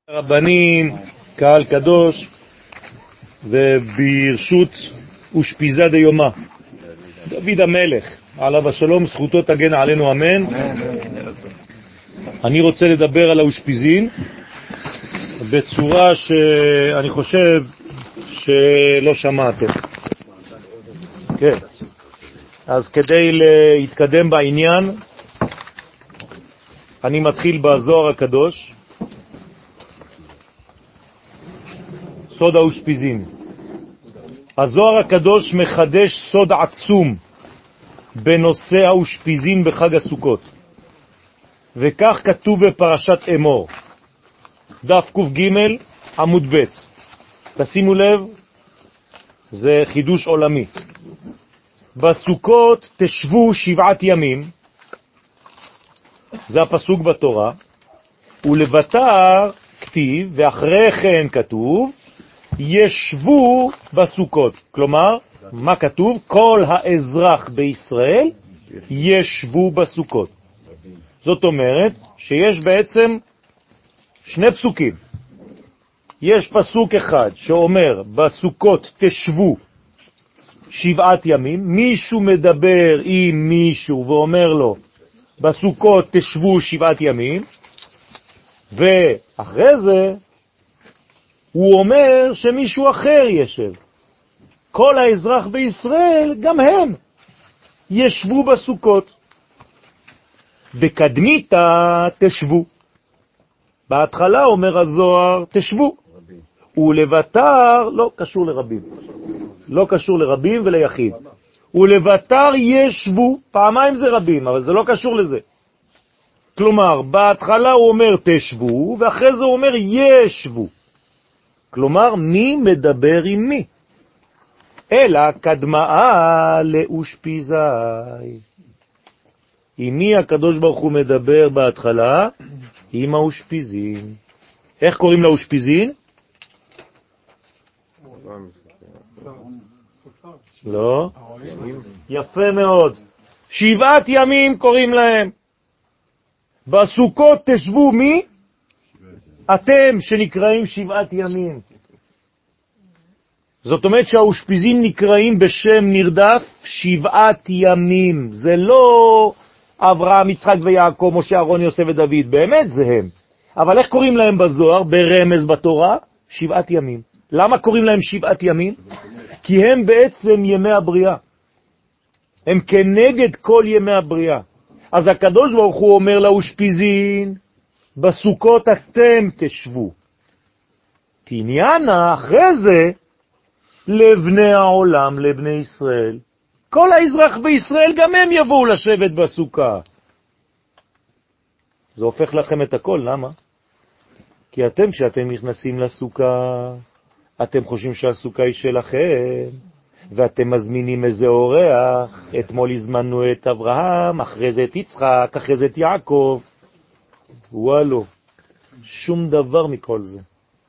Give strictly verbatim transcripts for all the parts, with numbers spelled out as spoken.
רבנים, קהל קדוש, וברשות אושפיזה דיומא, דוד המלך, עליו השלום, זכותו תגן עלינו, אמן. אני רוצה לדבר על האושפיזין בצורה שאני חושב שלא שמעתם. כן. אז כדי להתקדם בעניין, אני מתחיל בזוהר הקדוש, סוד האושפיזין. הזוהר הקדוש מחדש סוד עצום בנושא האושפיזין בחג הסוכות, וכך כתוב בפרשת אמור, דף ק"ג עמוד ב'. תשימו לב, זה חידוש עולמי. בסוכות תשבו שבעת ימים, זה הפסוק בתורה, ולבטר כתיב, ואחרי כן כתוב, ישבו בסוכות. כלומר, מה כתוב? כל האזרח בישראל ישבו בסוכות. זאת אומרת שיש בעצם שני פסוקים. יש פסוק אחד שאומר בסוכות תשבו שבעת ימים, מישהו מדבר עם מישהו ואומר לו בסוכות תשבו שבעת ימים, ואחרי זה הוא אומר שמישהו אחר ישב. כל האזרח בישראל, גם הם, ישבו בסוכות. בקדמיתה תשבו. בהתחלה אומר הזוהר תשבו. ולבטר, לא קשור לרבים. לא קשור לרבים וליחיד. ולבטר ישבו, פעמיים זה רבים, אבל זה לא קשור לזה. כלומר, בהתחלה הוא אומר תשבו, ואחרי זה הוא אומר ישבו. כלומר, מי מדבר עם מי? אלא קדמאה לאושפיזי. עם מי הקדוש ברוך הוא מדבר בהתחלה? עם האושפיזין. איך קוראים לאושפיזין? לא? יפה מאוד. שבעת ימים קוראים להם. בסוכות תשבו מי? אתם שנקראים שבעת ימים. זאת אומרת שהאושפיזים נקראים בשם נרדף שבעת ימים. זה לא אברהם, יצחק ויעקב, משה, אהרון, יוסף ודוד. באמת זה הם. אבל איך קוראים להם בזוהר, ברמז בתורה? שבעת ימים. למה קוראים להם שבעת ימים? כי הם בעצם ימי הבריאה. הם כנגד כל ימי הבריאה. אז הקדוש ברוך הוא אומר לאושפיזין, בסוכות אתם תשבו. תעניינה אחרי זה לבני העולם, לבני ישראל. כל האזרח בישראל גם הם יבואו לשבת בסוכה. זה הופך לכם את הכל, למה? כי אתם שאתם נכנסים לסוכה, אתם חושבים שהסוכה היא שלכם, ואתם מזמינים איזה אורח. אתמול הזמנו את אברהם, אחרי זה את יצחק, אחרי זה את יעקב. וואלו, שום דבר מכל זה.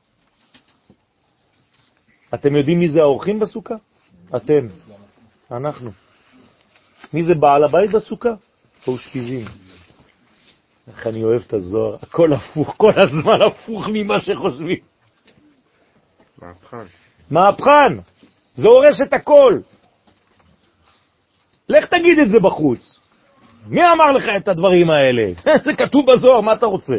אתם יודעים מי זה האורחים בסוכה? אתם, אנחנו. מי זה בעל הבית בסוכה? האושפיזין. איך אני אוהב את הזוהר, הכל הפוך, כל הזמן הפוך ממה שחושבים. מהפכן. מהפכן, זה הורס את הכל. לך תגיד את זה בחוץ. מי אמר לך את הדברים האלה? זה כתוב בזוהר, מה אתה רוצה?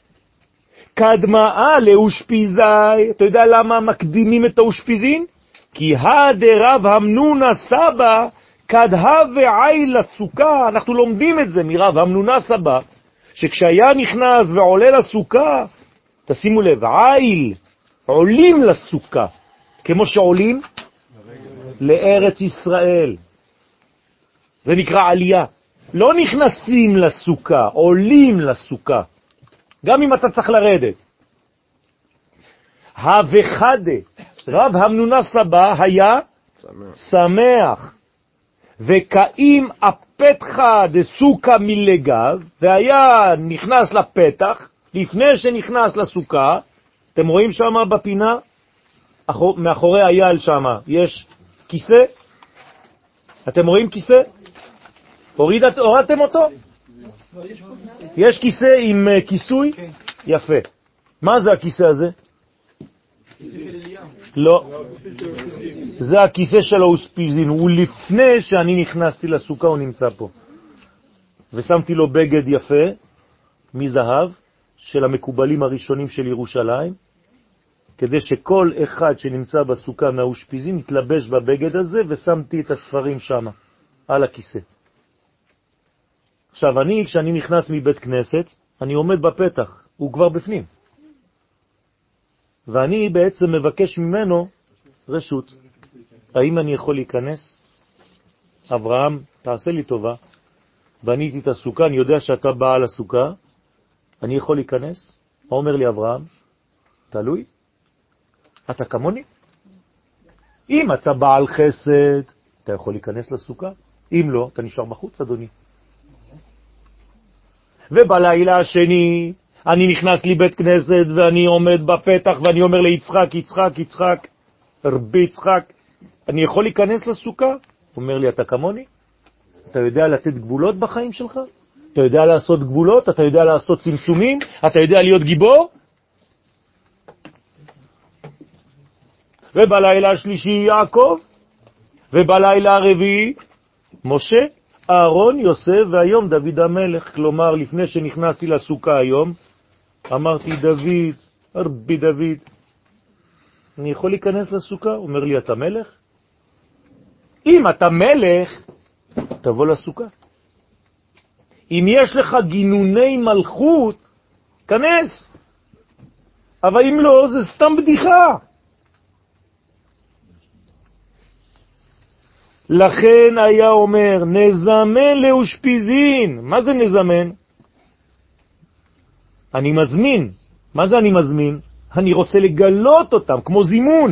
קדמאה לאושפיזי. אתה יודע למה מקדימים את האושפיזין? כי הדרב המנונה סבא קדהה ועיל לסוכה. אנחנו לומדים את זה מרב המנונה סבא, שכשהיה נכנס ועולה לסוכה, תשימו לב, עיל, עולים לסוכה, כמו שעולים לארץ ישראל. זה נקרא עלייה. לא נכנסים לסוכה, עולים לסוכה. גם אם אתה צריך לרדת. הווחדה, רב המנונה סבא היה שמח. שמח. וקאים הפתחה דסוכה מלגב, והיה נכנס לפתח, לפני שנכנס לסוכה. אתם רואים שם בפינה, מאחורי אייל שם, יש כיסא. אתם רואים כיסא? הורידת, הורדתם אותו? יש כיסא עם כיסוי? יפה. מה זה הכיסא הזה? לא. זה הכיסא של האושפיזין. הוא לפני שאני נכנסתי לסוכה, הוא נמצא פה. ושמתי לו בגד יפה, מזהב, של המקובלים הראשונים של ירושלים, כדי שכל אחד שנמצא בסוכה מהאושפיזין יתלבש בבגד הזה, ושמתי את הספרים שם, על הכיסא. עכשיו, אני, כשאני נכנס מבית כנסת, אני עומד בפתח, הוא כבר בפנים. ואני בעצם מבקש ממנו רשות. האם אני יכול להיכנס? אברהם, תעשה לי טובה. בניתי את הסוכה, אני יודע שאתה בעל הסוכה, אני יכול להיכנס? מה אומר לי אברהם? תלוי. אתה כמוני? אם אתה בעל חסד, אתה יכול להיכנס לסוכה. אם לא, אתה נשאר בחוץ, אדוני. ובלילה השני, אני נכנס לי בית כנסת, ואני עומד בפתח, ואני אומר ליצחק, יצחק, יצחק, רבי יצחק, אני יכול להיכנס לסוכה? הוא אומר לי, אתה כמוני? אתה יודע לתת גבולות בחיים שלך? אתה יודע לעשות גבולות? אתה יודע לעשות צמצומים? אתה יודע להיות גיבור? ובלילה השלישי יעקב, ובלילה הרביעי משה, אהרון, יוסף, והיום דוד המלך. כלומר, לפני שנכנסתי לסוכה היום, אמרתי, דוד, רבי דוד, אני יכול להיכנס לסוכה? הוא אומר לי, אתה מלך? אם אתה מלך, תבוא לסוכה. אם יש לך גינוני מלכות, כנס. אבל אם לא, זה סתם בדיחה. לכן היה אומר, נזמן לאושפיזין. מה זה נזמן? אני מזמין. מה זה אני מזמין? אני רוצה לגלות אותם, כמו זימון.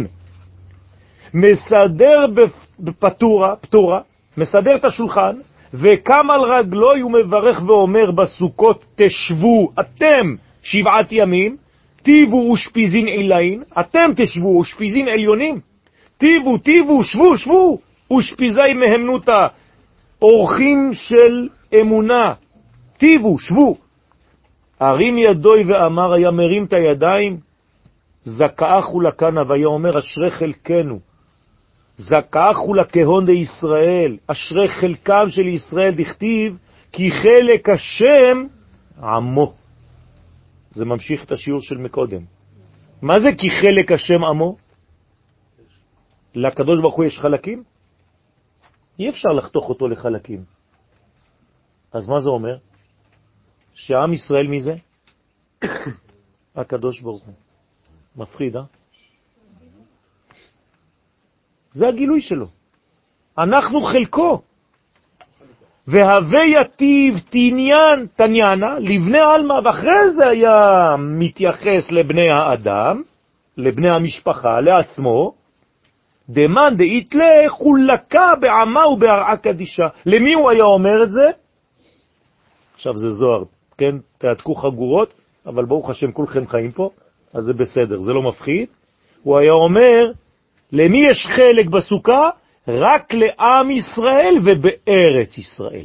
מסדר בפטורה, פטורה, מסדר את השולחן, וקם על רגלוי ומברך ואומר בסוכות, תשבו אתם שבעת ימים, תיבו אושפיזין עילין, אתם תשבו אושפיזין עליונים, תיבו, תיבו, שבו, שבו, אושפיזי מהמנותה, אורחים של אמונה, תיבו, שבו. הרים ידוי ואמר, היה מרים את הידיים, זכאחו לכנה, והיה אומר, אשרי חלקנו, זכאחו לכהון די ישראל, אשרי חלקם של ישראל, דכתיב, כי חלק השם עמו. זה ממשיך את השיעור של מקודם. מה זה כי חלק השם עמו? לקדוש ברוך הוא יש חלקים? אי אפשר לחתוך אותו לחלקים. אז מה זה אומר? שעם ישראל מי זה? הקדוש ברוך הוא. מפחיד, אה? זה הגילוי שלו. אנחנו חלקו. והווה יטיב תניין תניינה לבני אלמה, ואחרי זה היה מתייחס לבני האדם, לבני המשפחה, לעצמו, דמן דאיתלה חולקה בעמה ובהרעה קדישה. למי הוא היה אומר את זה? עכשיו זה זוהר, כן? תעתקו חגורות, אבל ברוך השם כולכם חיים פה, אז זה בסדר, זה לא מפחיד. הוא היה אומר, למי יש חלק בסוכה? רק לעם ישראל ובארץ ישראל.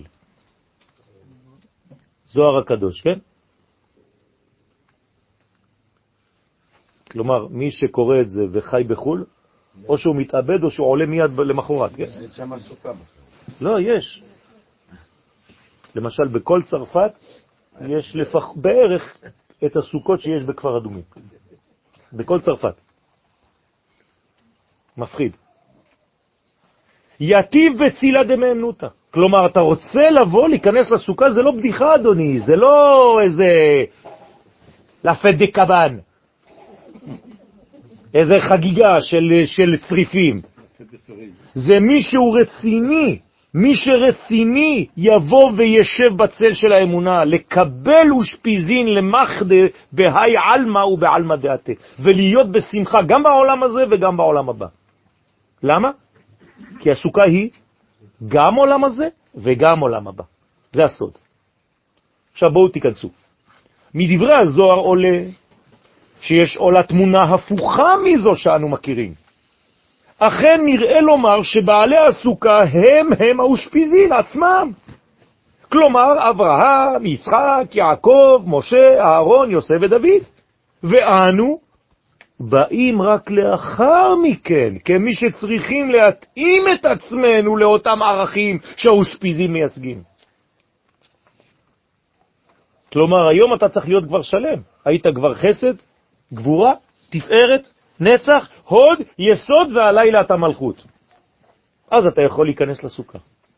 זוהר הקדוש, כן? כלומר, מי שקורא את זה וחי בחול, או שהוא מתאבד או שהוא עולה מיד למחרת, כן? יש שם סוכה. לא, יש. למשל, בכל צרפת יש לפח, בערך את הסוכות שיש בכפר אדומים. בכל צרפת. מפחיד. יטיב בצילה דמאמנותה. כלומר, אתה רוצה לבוא, להיכנס לסוכה, זה לא בדיחה, אדוני. זה לא איזה לפת דקבן. איזה חגיגה של, של צריפים. זה מישהו רציני. מי שרציני יבוא וישב בצל של האמונה, לקבל ושפיזין למחדה בהי אלמה ובעלמה דעתה, ולהיות בשמחה גם בעולם הזה וגם בעולם הבא. למה? כי הסוכה היא גם עולם הזה וגם עולם הבא. זה הסוד. עכשיו בואו תיכנסו. מדברי הזוהר עולה שיש עולה תמונה הפוכה מזו שאנו מכירים. אכן נראה לומר שבעלי הסוכה הם הם האושפיזין עצמם. כלומר, אברהם, יצחק, יעקב, משה, אהרון, יוסף ודוד. ואנו באים רק לאחר מכן, כמי שצריכים להתאים את עצמנו לאותם ערכים שהאושפיזים מייצגים. כלומר, היום אתה צריך להיות כבר שלם. היית כבר חסד, גבורה, תפארת, נצח, הוד, יסוד, והלילה אתה מלכות. אז אתה יכול להיכנס לסוכה.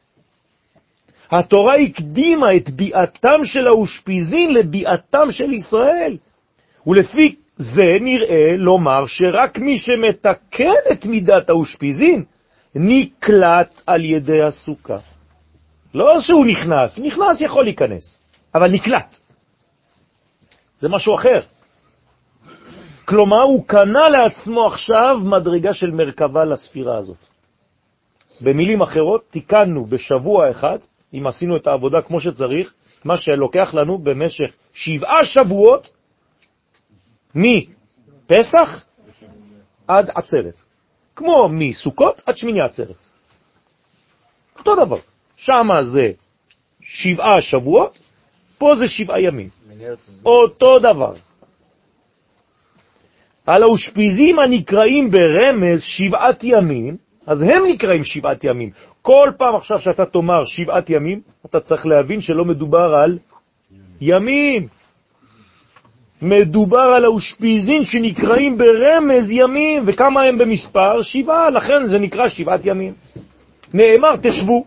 התורה הקדימה את ביאתם של האושפיזין לביאתם של ישראל. ולפי זה נראה לומר שרק מי שמתקן את מידת האושפיזין נקלט על ידי הסוכה. לא שהוא נכנס, נכנס יכול להיכנס, אבל נקלט. זה משהו אחר. כלומר, הוא קנה לעצמו עכשיו מדרגה של מרכבה לספירה הזאת. במילים אחרות, תיקנו בשבוע אחד, אם עשינו את העבודה כמו שצריך, מה שלוקח לנו במשך שבעה שבועות, מפסח עד עצרת. כמו מסוכות עד שמיני עצרת. אותו דבר. שם זה שבעה שבועות, פה זה שבעה ימים. אותו דבר. על האושפיזים הנקראים ברמז שבעת ימים, אז הם נקראים שבעת ימים. כל פעם עכשיו שאתה תאמר שבעת ימים, אתה צריך להבין שלא מדובר על ימים. מדובר על האושפיזין שנקראים ברמז ימים, וכמה הם במספר? שבעה, לכן זה נקרא שבעת ימים. נאמר תשבו.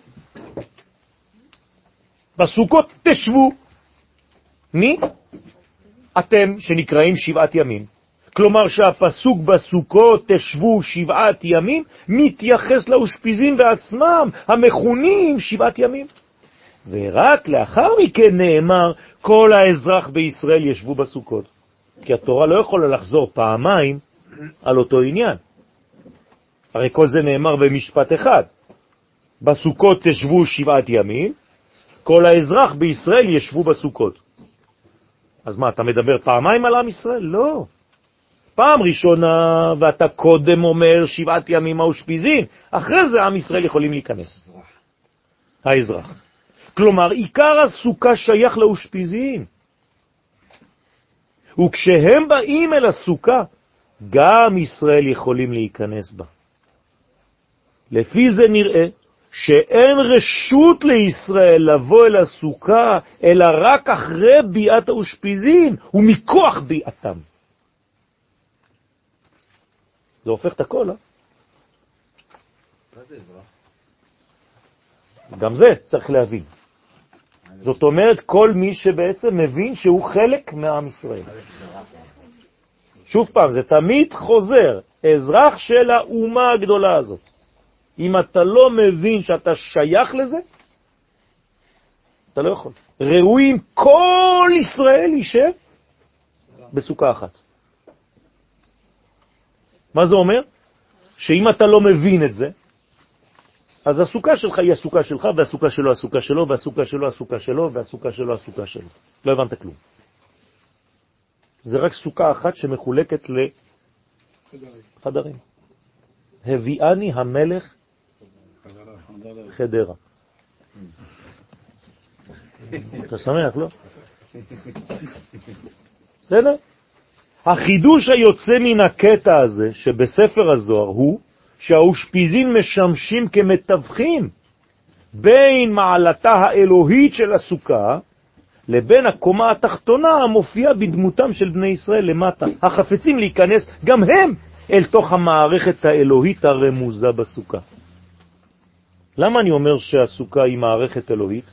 בסוכות תשבו. מי? אתם שנקראים שבעת ימים. כלומר שהפסוק בסוכות תשבו שבעת ימים מתייחס לאושפיזין בעצמם, המכונים שבעת ימים. ורק לאחר מכן נאמר כל האזרח בישראל ישבו בסוכות. כי התורה לא יכולה לחזור פעמיים על אותו עניין. הרי כל זה נאמר במשפט אחד. בסוכות תשבו שבעת ימים, כל האזרח בישראל ישבו בסוכות. אז מה, אתה מדבר פעמיים על עם ישראל? לא. פעם ראשונה, ואתה קודם אומר שבעת ימים האושפיזין, אחרי זה עם ישראל יכולים להיכנס. האזרח. כלומר, עיקר הסוכה שייך לאושפיזין. וכשהם באים אל הסוכה, גם ישראל יכולים להיכנס בה. לפי זה נראה שאין רשות לישראל לבוא אל הסוכה, אלא רק אחרי ביאת האושפיזין, ומכוח ביאתם. זה הופך את הכל, אה? מה זה אזרח? גם זה צריך להבין. זאת אומרת, כל מי שבעצם מבין שהוא חלק מעם ישראל. שוב פעם, זה תמיד חוזר, אזרח של האומה הגדולה הזאת. אם אתה לא מבין שאתה שייך לזה, אתה לא יכול. ראויים כל ישראל יישב בסוכה אחת. מה זה אומר? שאם אתה לא מבין את זה, אז הסוכה שלך היא הסוכה שלך, והסוכה שלו הסוכה שלו, והסוכה שלו הסוכה שלו, והסוכה שלו הסוכה שלו. לא הבנת כלום. זה רק סוכה אחת שמחולקת לחדרים. הביאני המלך חדרה. אתה שמח, לא? בסדר? החידוש היוצא מן הקטע הזה שבספר הזוהר הוא שהאושפיזין משמשים כמתווכים בין מעלתה האלוהית של הסוכה לבין הקומה התחתונה המופיעה בדמותם של בני ישראל למטה, החפצים להיכנס גם הם אל תוך המערכת האלוהית הרמוזה בסוכה. למה אני אומר שהסוכה היא מערכת אלוהית?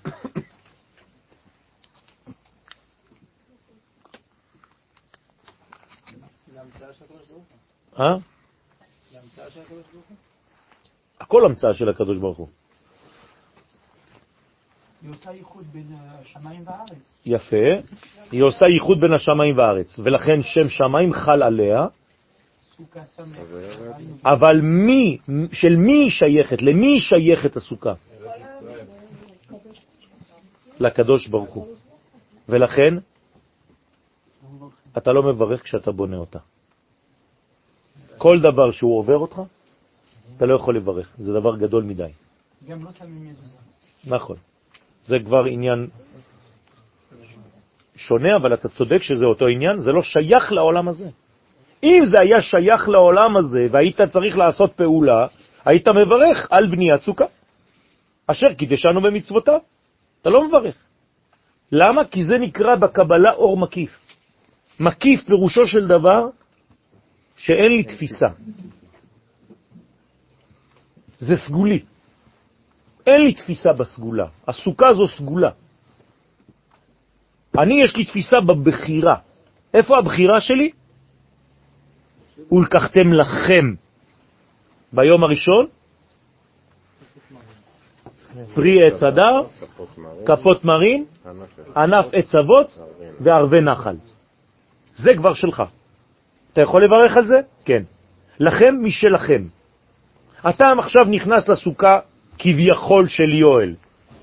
אה? הכל המצאה של הקדוש ברוך הוא. היא עושה ייחוד בין השמיים והארץ. יפה. היא עושה ייחוד בין השמיים והארץ, ולכן שם שמיים חל עליה. אבל מי, של מי שייכת? למי שייכת הסוכה? לקדוש ברוך הוא. ולכן אתה לא מברך כשאתה בונה אותה. כל דבר שהוא עובר אותך, אתה לא יכול לברך. זה דבר גדול מדי. גם לא שמים מזוזה. נכון. זה כבר עניין שונה, אבל אתה צודק שזה אותו עניין, זה לא שייך לעולם הזה. אם זה היה שייך לעולם הזה, והיית צריך לעשות פעולה, היית מברך על בניית סוכה, אשר קידשנו במצוותיו. אתה לא מברך. למה? כי זה נקרא בקבלה אור מקיף. מקיף פירושו של דבר שאין לי תפיסה. זה סגולי. אין לי תפיסה בסגולה. הסוכה זו סגולה. אני יש לי תפיסה בבחירה. איפה הבחירה שלי? ולקחתם לכם ביום הראשון פרי עץ הדר, כפות מרים, ענף עץ אבות וערבי נחל. זה כבר שלך. אתה יכול לברך על זה? כן. לכם משלכם. אתה עכשיו נכנס לסוכה כביכול של יואל.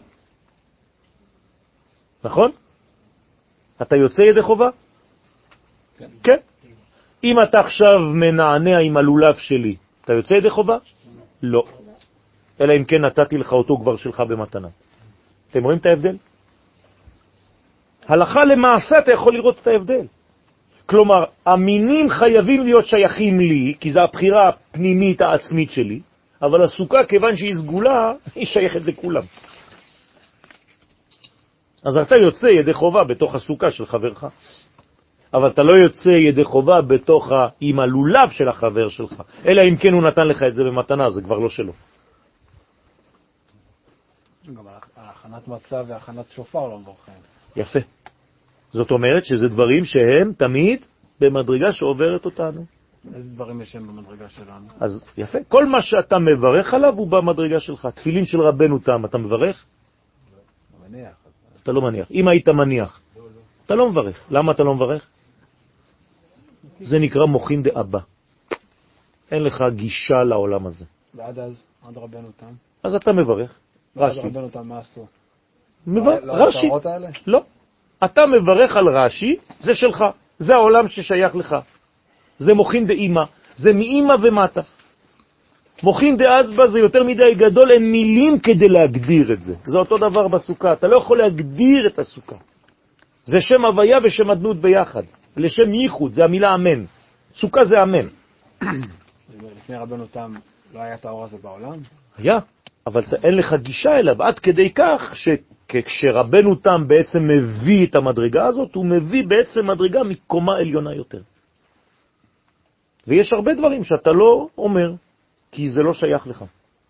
נכון? אתה יוצא ידי חובה? כן. כן. אם אתה עכשיו מנענע עם הלולב שלי, אתה יוצא ידי חובה? לא. אלא אם כן נתתי לך אותו כבר שלך במתנה. אתם רואים את ההבדל? הלכה למעשה אתה יכול לראות את ההבדל. כלומר, המינים חייבים להיות שייכים לי, כי זו הבחירה הפנימית העצמית שלי, אבל הסוכה, כיוון שהיא סגולה, היא שייכת לכולם. אז אתה יוצא ידי חובה בתוך הסוכה של חברך. אבל אתה לא יוצא ידי חובה בתוך עם הלולב של החבר שלך. אלא אם כן הוא נתן לך את זה במתנה, זה כבר לא שלו. גם ההכנת מצה והכנת שופר לא מברכים. יפה. זאת אומרת שזה דברים שהם תמיד במדרגה שעוברת אותנו. איזה דברים יש הם במדרגה שלנו? אז יפה. כל מה שאתה מברך עליו הוא במדרגה שלך. תפילין של רבנו תם, אתה מברך? מניח. אתה לא מניח. אם היית מניח, אתה לא מברך. למה אתה לא מברך? זה נקרא מוחין דאבא. אין לך גישה לעולם הזה. ועד אז, עד רבנו תם? אז אתה מברך. רש"י. עד רבנו תם מה עשו? רש"י. לא. אתה מברך על רש"י, זה שלך. זה העולם ששייך לך. זה מוחין דאמא. זה מאמא ומטה. מוחין דאבא זה יותר מדי גדול, אין מילים כדי להגדיר את זה. זה אותו דבר בסוכה. אתה לא יכול להגדיר את הסוכה. זה שם הוויה ושם אדנות ביחד. לשם ייחוד, זה המילה אמן. סוכה זה אמן. לפני רבנו תם לא היה את האור הזה בעולם? היה, אבל אין לך גישה אליו, עד כדי כך שכשרבנו תם בעצם מביא את המדרגה הזאת, הוא מביא בעצם מדרגה מקומה עליונה יותר. ויש הרבה דברים שאתה לא אומר, כי זה לא שייך לך.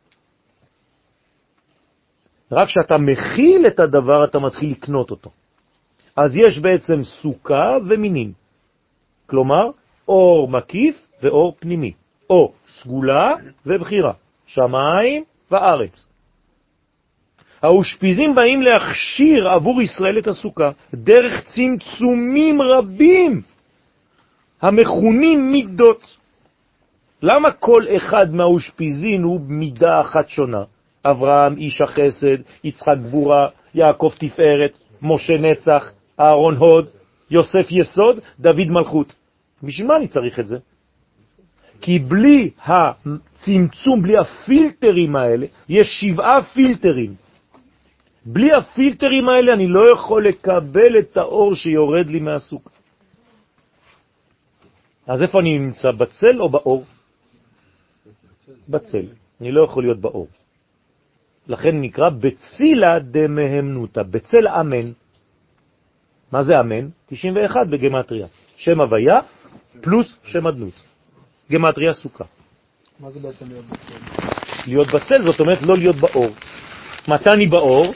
רק כשאתה מכיל את הדבר, אתה מתחיל לקנות אותו. אז יש בעצם סוכה ומינים. כלומר, אור מקיף ואור פנימי. או סגולה ובחירה. שמיים וארץ. האושפיזים באים להכשיר עבור ישראל את הסוכה, דרך צמצומים רבים, המכונים מידות. למה כל אחד מהאושפיזין הוא מידה אחת שונה? אברהם איש החסד, יצחק גבורה, יעקב תפארת, משה נצח, אהרון הוד, יוסף יסוד, דוד מלכות. בשביל מה אני צריך את זה? כי בלי הצמצום, בלי הפילטרים האלה, יש שבעה פילטרים. בלי הפילטרים האלה אני לא יכול לקבל את האור שיורד לי מהסוכה. אז איפה אני נמצא? בצל או באור? בצל. אני לא יכול להיות באור. לכן נקרא בצילה דמהמנותה, בצל אמן. מה זה אמן? תשעים ואחת בגמטריה. שם הוויה פלוס שם אדנות. גמטריה סוכה. מה זה בעצם להיות בצל? להיות בצל זאת אומרת לא להיות באור. מתי אני באור?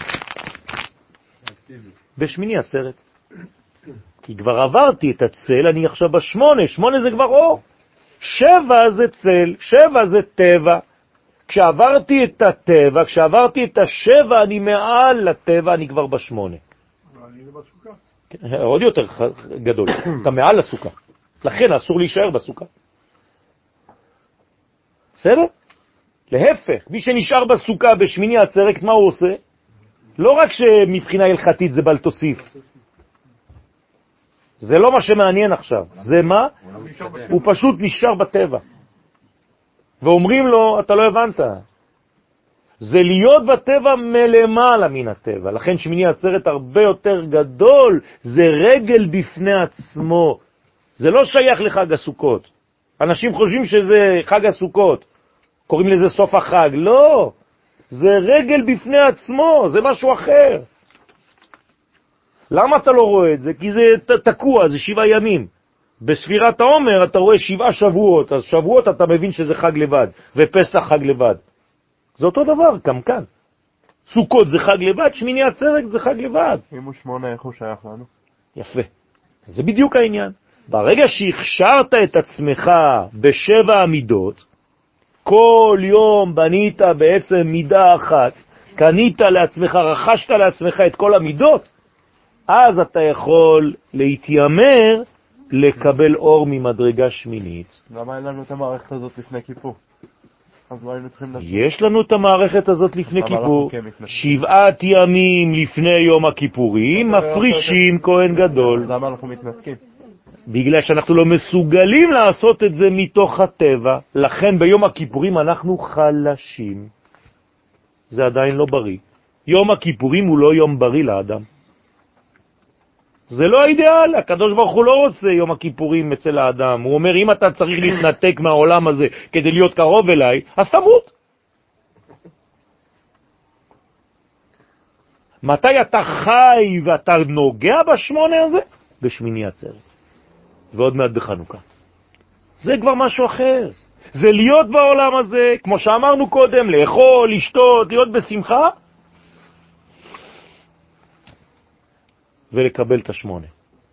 בשמיני עצרת. כי כבר עברתי את הצל, אני עכשיו בשמונה. שמונה זה כבר אור. שבע זה צל, שבע זה טבע. כשעברתי את הטבע, כשעברתי את השבע, אני מעל לטבע, אני כבר בשמונה. אני זה בסוכה. כן, עוד יותר גדול. אתה מעל לסוכה. לכן אסור להישאר בסוכה. בסדר? להפך, מי שנשאר בסוכה בשמיני עצרת, מה הוא עושה? לא רק שמבחינה הלכתית זה בל תוסיף. זה לא מה שמעניין עכשיו. זה מה? הוא פשוט נשאר בטבע. ואומרים לו, אתה לא הבנת. זה להיות בטבע מלמעלה מן הטבע. לכן שמיני עצרת הרבה יותר גדול, זה רגל בפני עצמו. זה לא שייך לחג הסוכות. אנשים חושבים שזה חג הסוכות, קוראים לזה סוף החג. לא, זה רגל בפני עצמו, זה משהו אחר. למה אתה לא רואה את זה? כי זה תקוע, זה שבעה ימים. בספירת העומר אתה רואה שבעה שבועות, אז שבועות אתה מבין שזה חג לבד, ופסח חג לבד. זה אותו דבר, גם כאן. סוכות זה חג לבד, שמיני עצרת זה חג לבד. אם הוא שמונה, איך הוא שייך לנו? יפה. זה בדיוק העניין. ברגע שהכשרת את עצמך בשבע המידות, כל יום בנית בעצם מידה אחת, קנית לעצמך, רכשת לעצמך את כל המידות, אז אתה יכול להתיימר לקבל אור ממדרגה שמינית. למה אין לנו את המערכת הזאת לפני כיפור? אז מה היינו צריכים לעשות? יש לנו את המערכת הזאת לפני כיפור. שבעת ימים לפני יום הכיפורים מפרישים כהן גדול. למה אנחנו מתנתקים? בגלל שאנחנו לא מסוגלים לעשות את זה מתוך הטבע. לכן ביום הכיפורים אנחנו חלשים. זה עדיין לא בריא. יום הכיפורים הוא לא יום בריא לאדם. זה לא האידאל, הקדוש ברוך הוא לא רוצה יום הכיפורים אצל האדם. הוא אומר, אם אתה צריך להתנתק מהעולם הזה כדי להיות קרוב אליי, אז תמות. מתי אתה חי ואתה נוגע בשמונה הזה? בשמיני עצרת. ועוד מעט בחנוכה. זה כבר משהו אחר. זה להיות בעולם הזה, כמו שאמרנו קודם, לאכול, לשתות, להיות בשמחה, ולקבל את השמונה.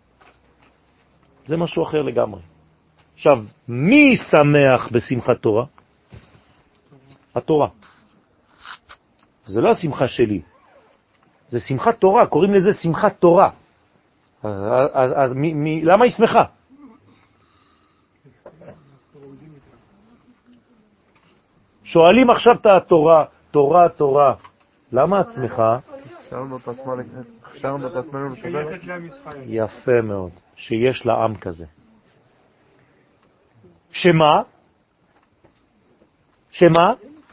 זה משהו אחר לגמרי. עכשיו, מי שמח בשמחת תורה? התורה. זה לא השמחה שלי. זה שמחת תורה, קוראים לזה שמחת תורה. אז, אז, אז מי, מי, למה היא שמחה? שואלים עכשיו את התורה, תורה, תורה. למה את שמחה? הכשרנו את עצמנו, הכשרנו את עצמנו לשבר. יפה מאוד, שיש לעם כזה. שמה? שמה?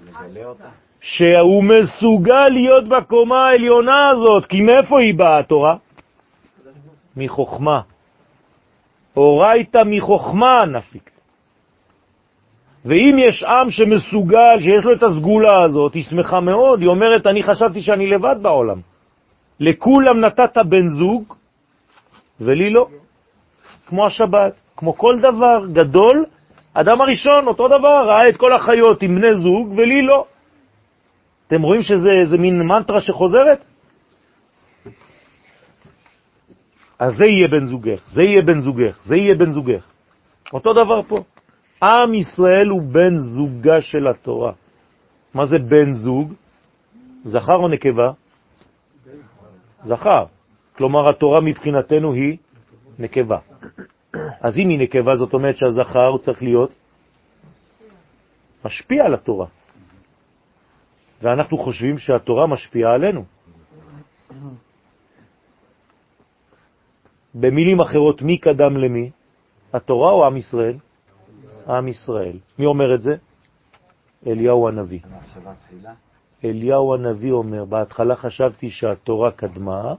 שהוא מסוגל להיות בקומה העליונה הזאת, כי מאיפה היא באה התורה? מחוכמה. אורייתא מחוכמה נפיק. ואם יש עם שמסוגל, שיש לו את הסגולה הזאת, היא שמחה מאוד, היא אומרת, אני חשבתי שאני לבד בעולם. לכולם נתת בן זוג, ולי לא. כמו השבת, כמו כל דבר גדול, אדם הראשון, אותו דבר, ראה את כל החיות עם בני זוג, ולי לא. אתם רואים שזה מין מנטרה שחוזרת? אז זה יהיה בן זוגך, זה יהיה בן זוגך, זה יהיה בן זוגך. אותו דבר פה. עם ישראל הוא בן זוגה של התורה. מה זה בן זוג? זכר או נקבה? זכר. כלומר, התורה מבחינתנו היא נקבה. אז אם היא נקבה, זאת אומרת שהזכר הוא צריך להיות משפיע על התורה. ואנחנו חושבים שהתורה משפיעה עלינו. במילים אחרות, מי קדם למי? התורה או עם ישראל? עם ישראל. מי אומר את זה? אליהו הנביא. אליהו הנביא אומר, בהתחלה חשבתי שהתורה קדמה,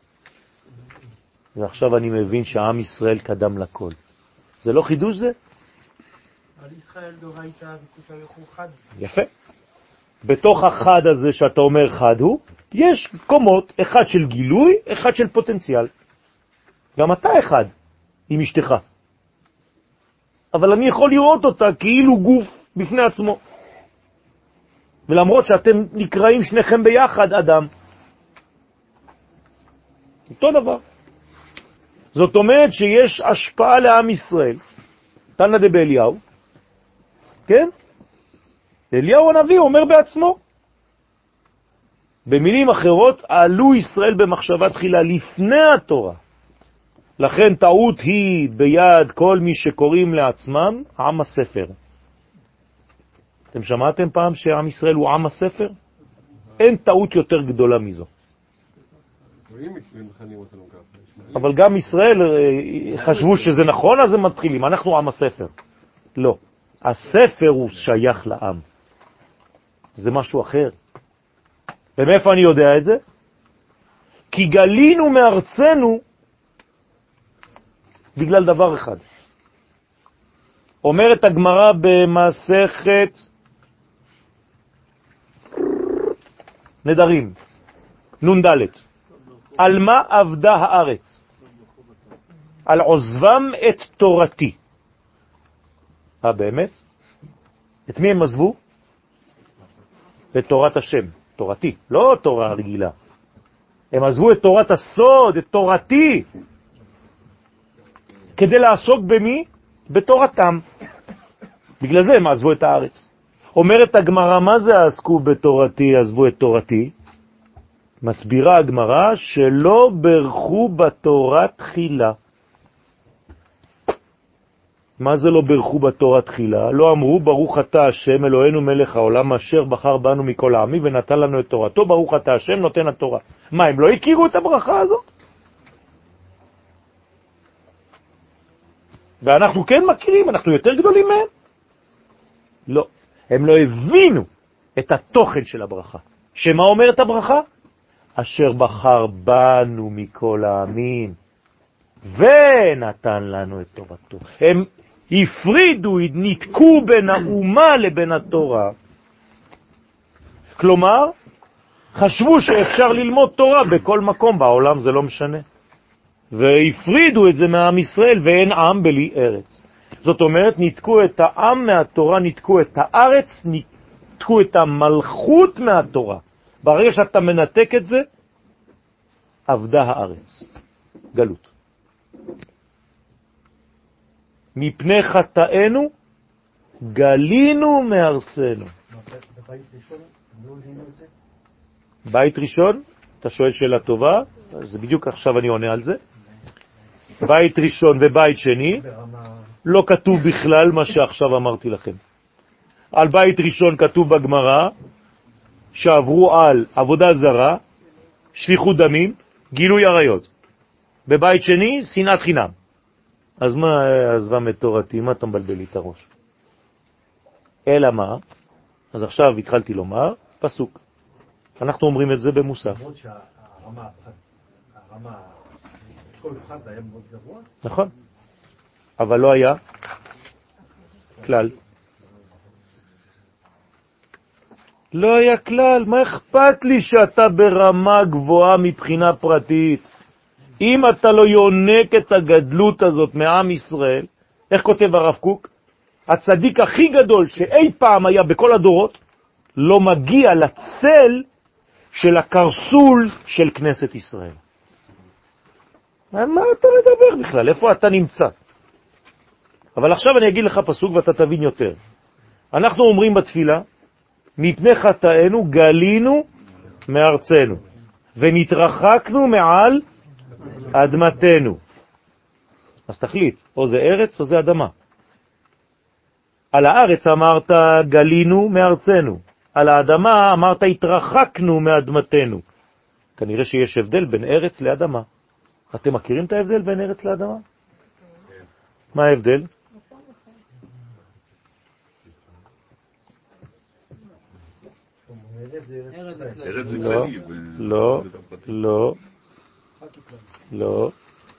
ועכשיו אני מבין שהעם ישראל קדם לכל. זה לא חידוש זה? על ישראל דורייתא וקוטה חד. יפה. בתוך החד הזה שאתה אומר חד הוא, יש קומות, אחד של גילוי, אחד של פוטנציאל. גם אתה אחד עם אשתך. אבל אני יכול לראות אותה כאילו גוף בפני עצמו. ולמרות שאתם נקראים שניכם ביחד אדם. אותו דבר. זאת אומרת שיש השפעה לעם ישראל. תנא דבאליהו, כן? אליהו הנביא אומר בעצמו. במילים אחרות, עלו ישראל במחשבה תחילה לפני התורה. לכן טעות היא ביד כל מי שקוראים לעצמם עם הספר. אתם שמעתם פעם שעם ישראל הוא עם הספר? אין טעות יותר גדולה מזו. אבל גם ישראל חשבו שזה נכון, אז הם מתחילים. אנחנו עם הספר. לא. הספר הוא שייך לעם. זה משהו אחר. ומאיפה אני יודע את זה? כי גלינו מארצנו בגלל דבר אחד. אומרת הגמרא במסכת נדרים, נון ד', על מה עבדה הארץ? על עוזבם את תורתי. אה, באמת? את מי הם עזבו? את תורת השם, תורתי, לא תורה רגילה. הם עזבו את תורת הסוד, את תורתי, כדי לעסוק במי? בתורתם. בגלל זה הם עזבו את הארץ. אומרת הגמרא, מה זה עסקו בתורתי, עזבו את תורתי? מסבירה הגמרא שלא ברכו בתורה תחילה. מה זה לא ברכו בתורה תחילה? לא אמרו ברוך אתה השם אלוהינו מלך העולם אשר בחר בנו מכל העמים ונתן לנו את תורתו, ברוך אתה השם נותן התורה. מה, הם לא הכירו את הברכה הזאת? ואנחנו כן מכירים, אנחנו יותר גדולים מהם? לא, הם לא הבינו את התוכן של הברכה. שמה אומרת הברכה? אשר בחר בנו מכל העמים ונתן לנו את תורתו. הם הפרידו, נתקו בין האומה לבין התורה. כלומר, חשבו שאפשר ללמוד תורה בכל מקום בעולם, זה לא משנה. והפרידו את זה מעם ישראל, ואין עם בלי ארץ. זאת אומרת, נתקו את העם מהתורה, נתקו את הארץ, נתקו את המלכות מהתורה. ברגע שאתה מנתק את זה, עבדה הארץ. גלות. מפני חטאנו גלינו מארצנו. בית ראשון, אתה שואל שאלה טובה, אז בדיוק עכשיו אני עונה על זה. בית ראשון ובית שני, לא כתוב בכלל מה שעכשיו אמרתי לכם. על בית ראשון כתוב בגמרא שעברו על עבודה זרה, שפיכות דמים, גילוי עריות. בבית שני, שנאת חינם. אז מה עזבם את תורתי? מה אתה מבלבל לי את הראש? אלא מה? אז עכשיו התחלתי לומר, פסוק. אנחנו אומרים את זה במוסף. למרות שהרמה, הרמה, כל אחד היה מאוד גבוה. נכון. אבל לא היה כלל. לא היה כלל. מה אכפת לי שאתה ברמה גבוהה מבחינה פרטית? אם אתה לא יונק את הגדלות הזאת מעם ישראל, איך כותב הרב קוק? הצדיק הכי גדול שאי פעם היה בכל הדורות, לא מגיע לצל של הקרסול של כנסת ישראל. מה אתה מדבר בכלל? איפה אתה נמצא? אבל עכשיו אני אגיד לך פסוק ואתה תבין יותר. אנחנו אומרים בתפילה, מפני חטאנו גלינו מארצנו, ונתרחקנו מעל אדמתנו. אז תחליט, או זה ארץ או זה אדמה. על הארץ אמרת גלינו מארצנו, על האדמה אמרת התרחקנו מאדמתנו. כנראה שיש הבדל בין ארץ לאדמה. אתם מכירים את ההבדל בין ארץ לאדמה? מה ההבדל? לא, לא, לא, לא.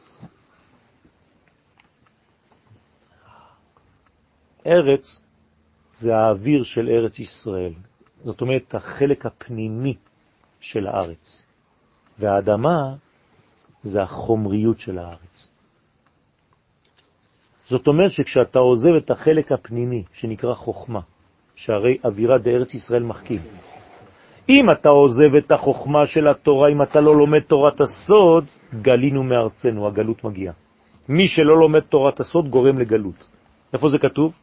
ארץ זה האוויר של ארץ ישראל. זאת אומרת, החלק הפנימי של הארץ. והאדמה זה החומריות של הארץ. זאת אומרת שכשאתה עוזב את החלק הפנימי, שנקרא חוכמה, שהרי אווירה בארץ ישראל מחכים. אם אתה עוזב את החוכמה של התורה, אם אתה לא לומד תורת הסוד, גלינו מארצנו, הגלות מגיעה. מי שלא לומד תורת הסוד גורם לגלות. איפה זה כתוב?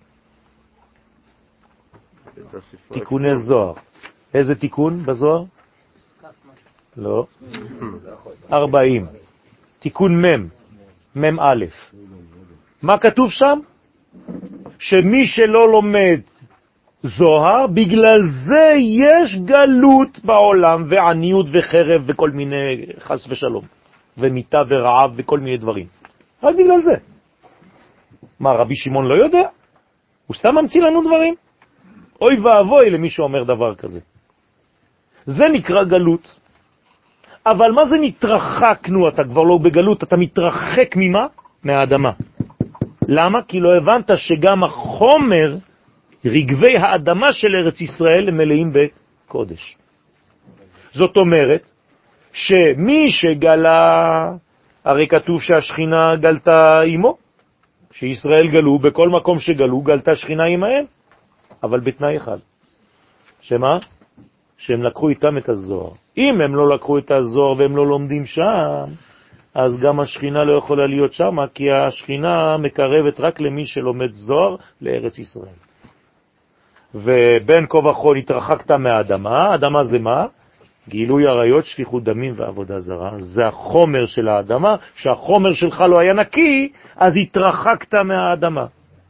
תיקוני זוהר. איזה תיקון בזוהר? לא. ארבעים. תיקון מם. מם א'. מה כתוב שם? שמי שלא לומד זוהר, בגלל זה יש גלות בעולם, ועניות וחרב וכל מיני חס ושלום, ומיטה ורעב וכל מיני דברים. רק בגלל זה. מה, רבי שמעון לא יודע? הוא סתם ממציא לנו דברים? אוי ואבוי למי שאומר דבר כזה. זה נקרא גלות. אבל מה זה נתרחקנו? אתה כבר לא בגלות, אתה מתרחק ממה? מהאדמה. למה? כי לא הבנת שגם החומר, רגבי האדמה של ארץ ישראל, הם מלאים בקודש. זאת אומרת, שמי שגלה, הרי כתוב שהשכינה גלתה עמו, שישראל גלו, בכל מקום שגלו, גלתה שכינה עמהם, אבל בתנאי אחד. שמה? שהם לקחו איתם את הזוהר. אם הם לא לקחו את הזוהר והם לא לומדים שם, אז גם השכינה לא יכולה להיות שם, כי השכינה מקרבת רק למי שלומד זוהר לארץ ישראל. ובין כה וכה התרחקת מהאדמה. האדמה זה מה? גילוי עריות, שפיכות דמים ועבודה זרה. זה החומר של האדמה. שהחומר שלך לא היה נקי, אז התרחקת מהאדמה.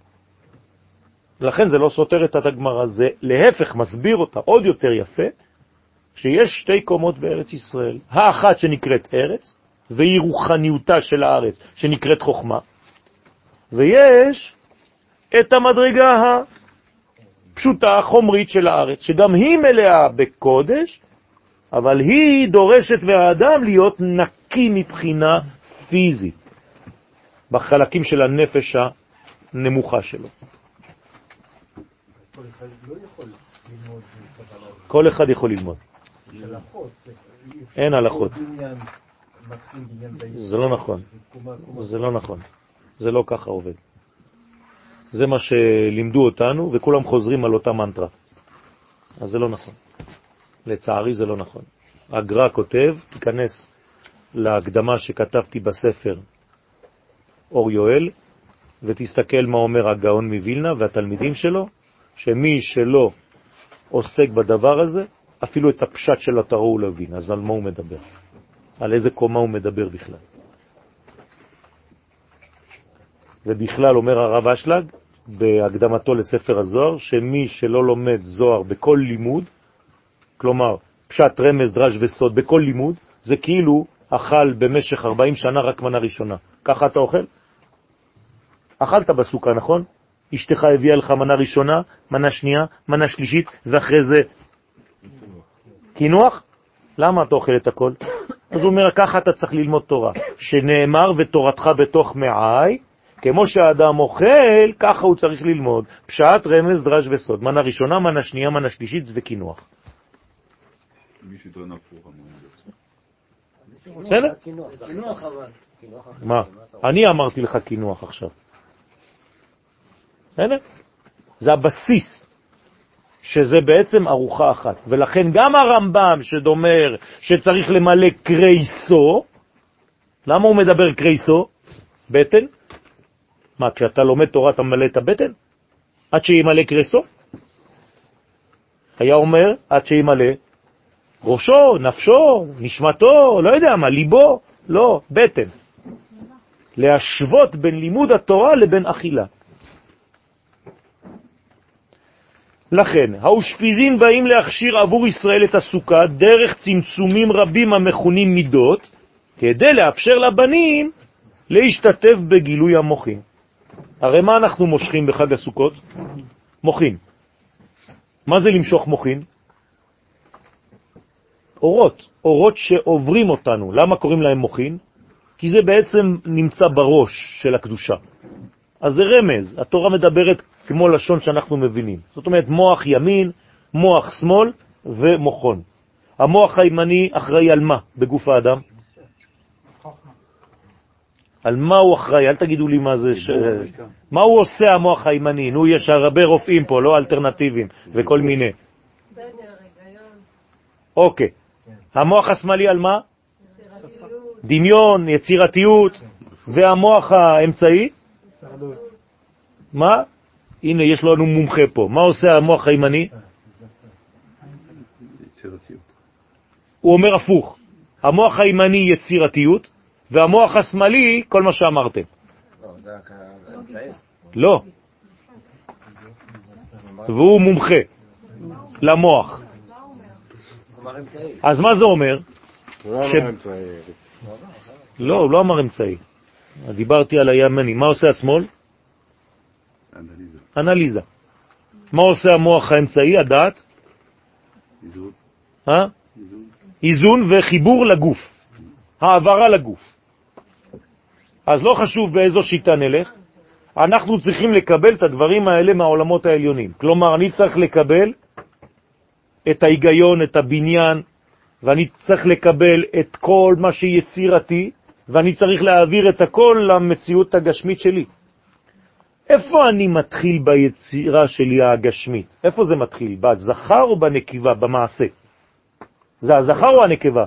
לכן זה לא סותר את הגמרא, זה להפך מסביר אותה עוד יותר יפה, שיש שתי קומות בארץ ישראל. האחת שנקראת ארץ, והיא רוחניותה של הארץ שנקראת חוכמה, ויש את המדרגה הפשוטה, החומרית של הארץ, שגם היא מלאה בקודש, אבל היא דורשת מהאדם להיות נקי מבחינה פיזית, בחלקים של הנפש הנמוכה שלו. כל אחד לא יכול ללמוד קבלה. כל אחד יכול ללמוד. הלכות. אין הלכות. בניין, מתחיל בניין בישראל. זה לא נכון. קומה, קומה. זה לא נכון. זה לא ככה עובד. זה מה שלימדו אותנו, וכולם חוזרים על אותה מנטרה. אז זה לא נכון. לצערי זה לא נכון. הגר"א כותב, תיכנס להקדמה שכתבתי בספר אור יואל, ותסתכל מה אומר הגאון מווילנה והתלמידים שלו, שמי שלא עוסק בדבר הזה, אפילו את הפשט של התורה הוא לא הבין. אז על מה הוא מדבר? על איזה קומה הוא מדבר בכלל? ובכלל אומר הרב אשלג בהקדמתו לספר הזוהר, שמי שלא לומד זוהר בכל לימוד, כלומר פשט רמז דרש וסוד בכל לימוד, זה כאילו אכל במשך ארבעים שנה רק מנה ראשונה. ככה אתה אוכל? אכלת בסוכה, נכון? אשתך הביאה לך מנה ראשונה, מנה שנייה, מנה שלישית, ואחרי זה קינוח? למה אתה אוכל את הכל? אז הוא אומר, ככה אתה צריך ללמוד תורה, שנאמר ותורתך בתוך מעי, כמו שהאדם אוכל, ככה הוא צריך ללמוד. פשט, רמז, דרש וסוד. מנה ראשונה, מנה שנייה, מנה שלישית וקינוח. מי שטוען הפוך, בסדר? מה? אני אמרתי לך קינוח עכשיו. בסדר? זה הבסיס, שזה בעצם ארוחה אחת. ולכן גם הרמב"ם שדומר שצריך למלא קרייסו, למה הוא מדבר קרייסו? בטן? מה, כשאתה לומד תורה אתה מלא את הבטן? עד שימלא קרייסו? היה אומר, עד שימלא ראשו, נפשו, נשמתו, לא יודע מה, ליבו, לא, בטן. להשוות בין לימוד התורה לבין אכילה. לכן, האושפיזין באים להכשיר עבור ישראל את הסוכה דרך צמצומים רבים המכונים מידות, כדי לאפשר לבנים להשתתף בגילוי המוחין. הרי מה אנחנו מושכים בחג הסוכות? מוחין. מה זה למשוך מוחין? אורות, אורות שעוברים אותנו. למה קוראים להם מוחין? כי זה בעצם נמצא בראש של הקדושה. אז זה רמז, התורה מדברת כמו לשון שאנחנו מבינים. זאת אומרת, מוח ימין, מוח שמאל ומוחון. המוח הימני אחראי על מה בגוף האדם? על מה הוא אחראי? אל תגידו לי מה זה. ש... מה הוא עושה המוח הימני? נו, יש הרבה רופאים פה, לא אלטרנטיביים וכל מיני. אוקיי. המוח השמאלי על מה? דמיון, יצירתיות. והמוח האמצעי? מה? הנה, יש לנו מומחה פה. מה עושה המוח הימני? יצירתיות. הוא אומר הפוך. המוח הימני יצירתיות, והמוח השמאלי, כל מה שאמרתם. לא, זה האמצעי. לא. והוא מומחה למוח. אז מה זה אומר? לא, הוא לא אמר אמצעי. דיברתי על הימני. מה עושה השמאל? אנליזה. אנליזה. מה עושה המוח האמצעי, הדעת? איזון. אה? איזון. איזון וחיבור לגוף, העברה לגוף. אז לא חשוב באיזו שיטה נלך, אנחנו צריכים לקבל את הדברים האלה מהעולמות העליונים. כלומר, אני צריך לקבל את ההיגיון, את הבניין, ואני צריך לקבל את כל מה שיצירתי, ואני צריך להעביר את הכל למציאות הגשמית שלי. איפה אני מתחיל ביצירה שלי הגשמית? איפה זה מתחיל? בזכר או בנקבה, במעשה? זה הזכר או הנקבה?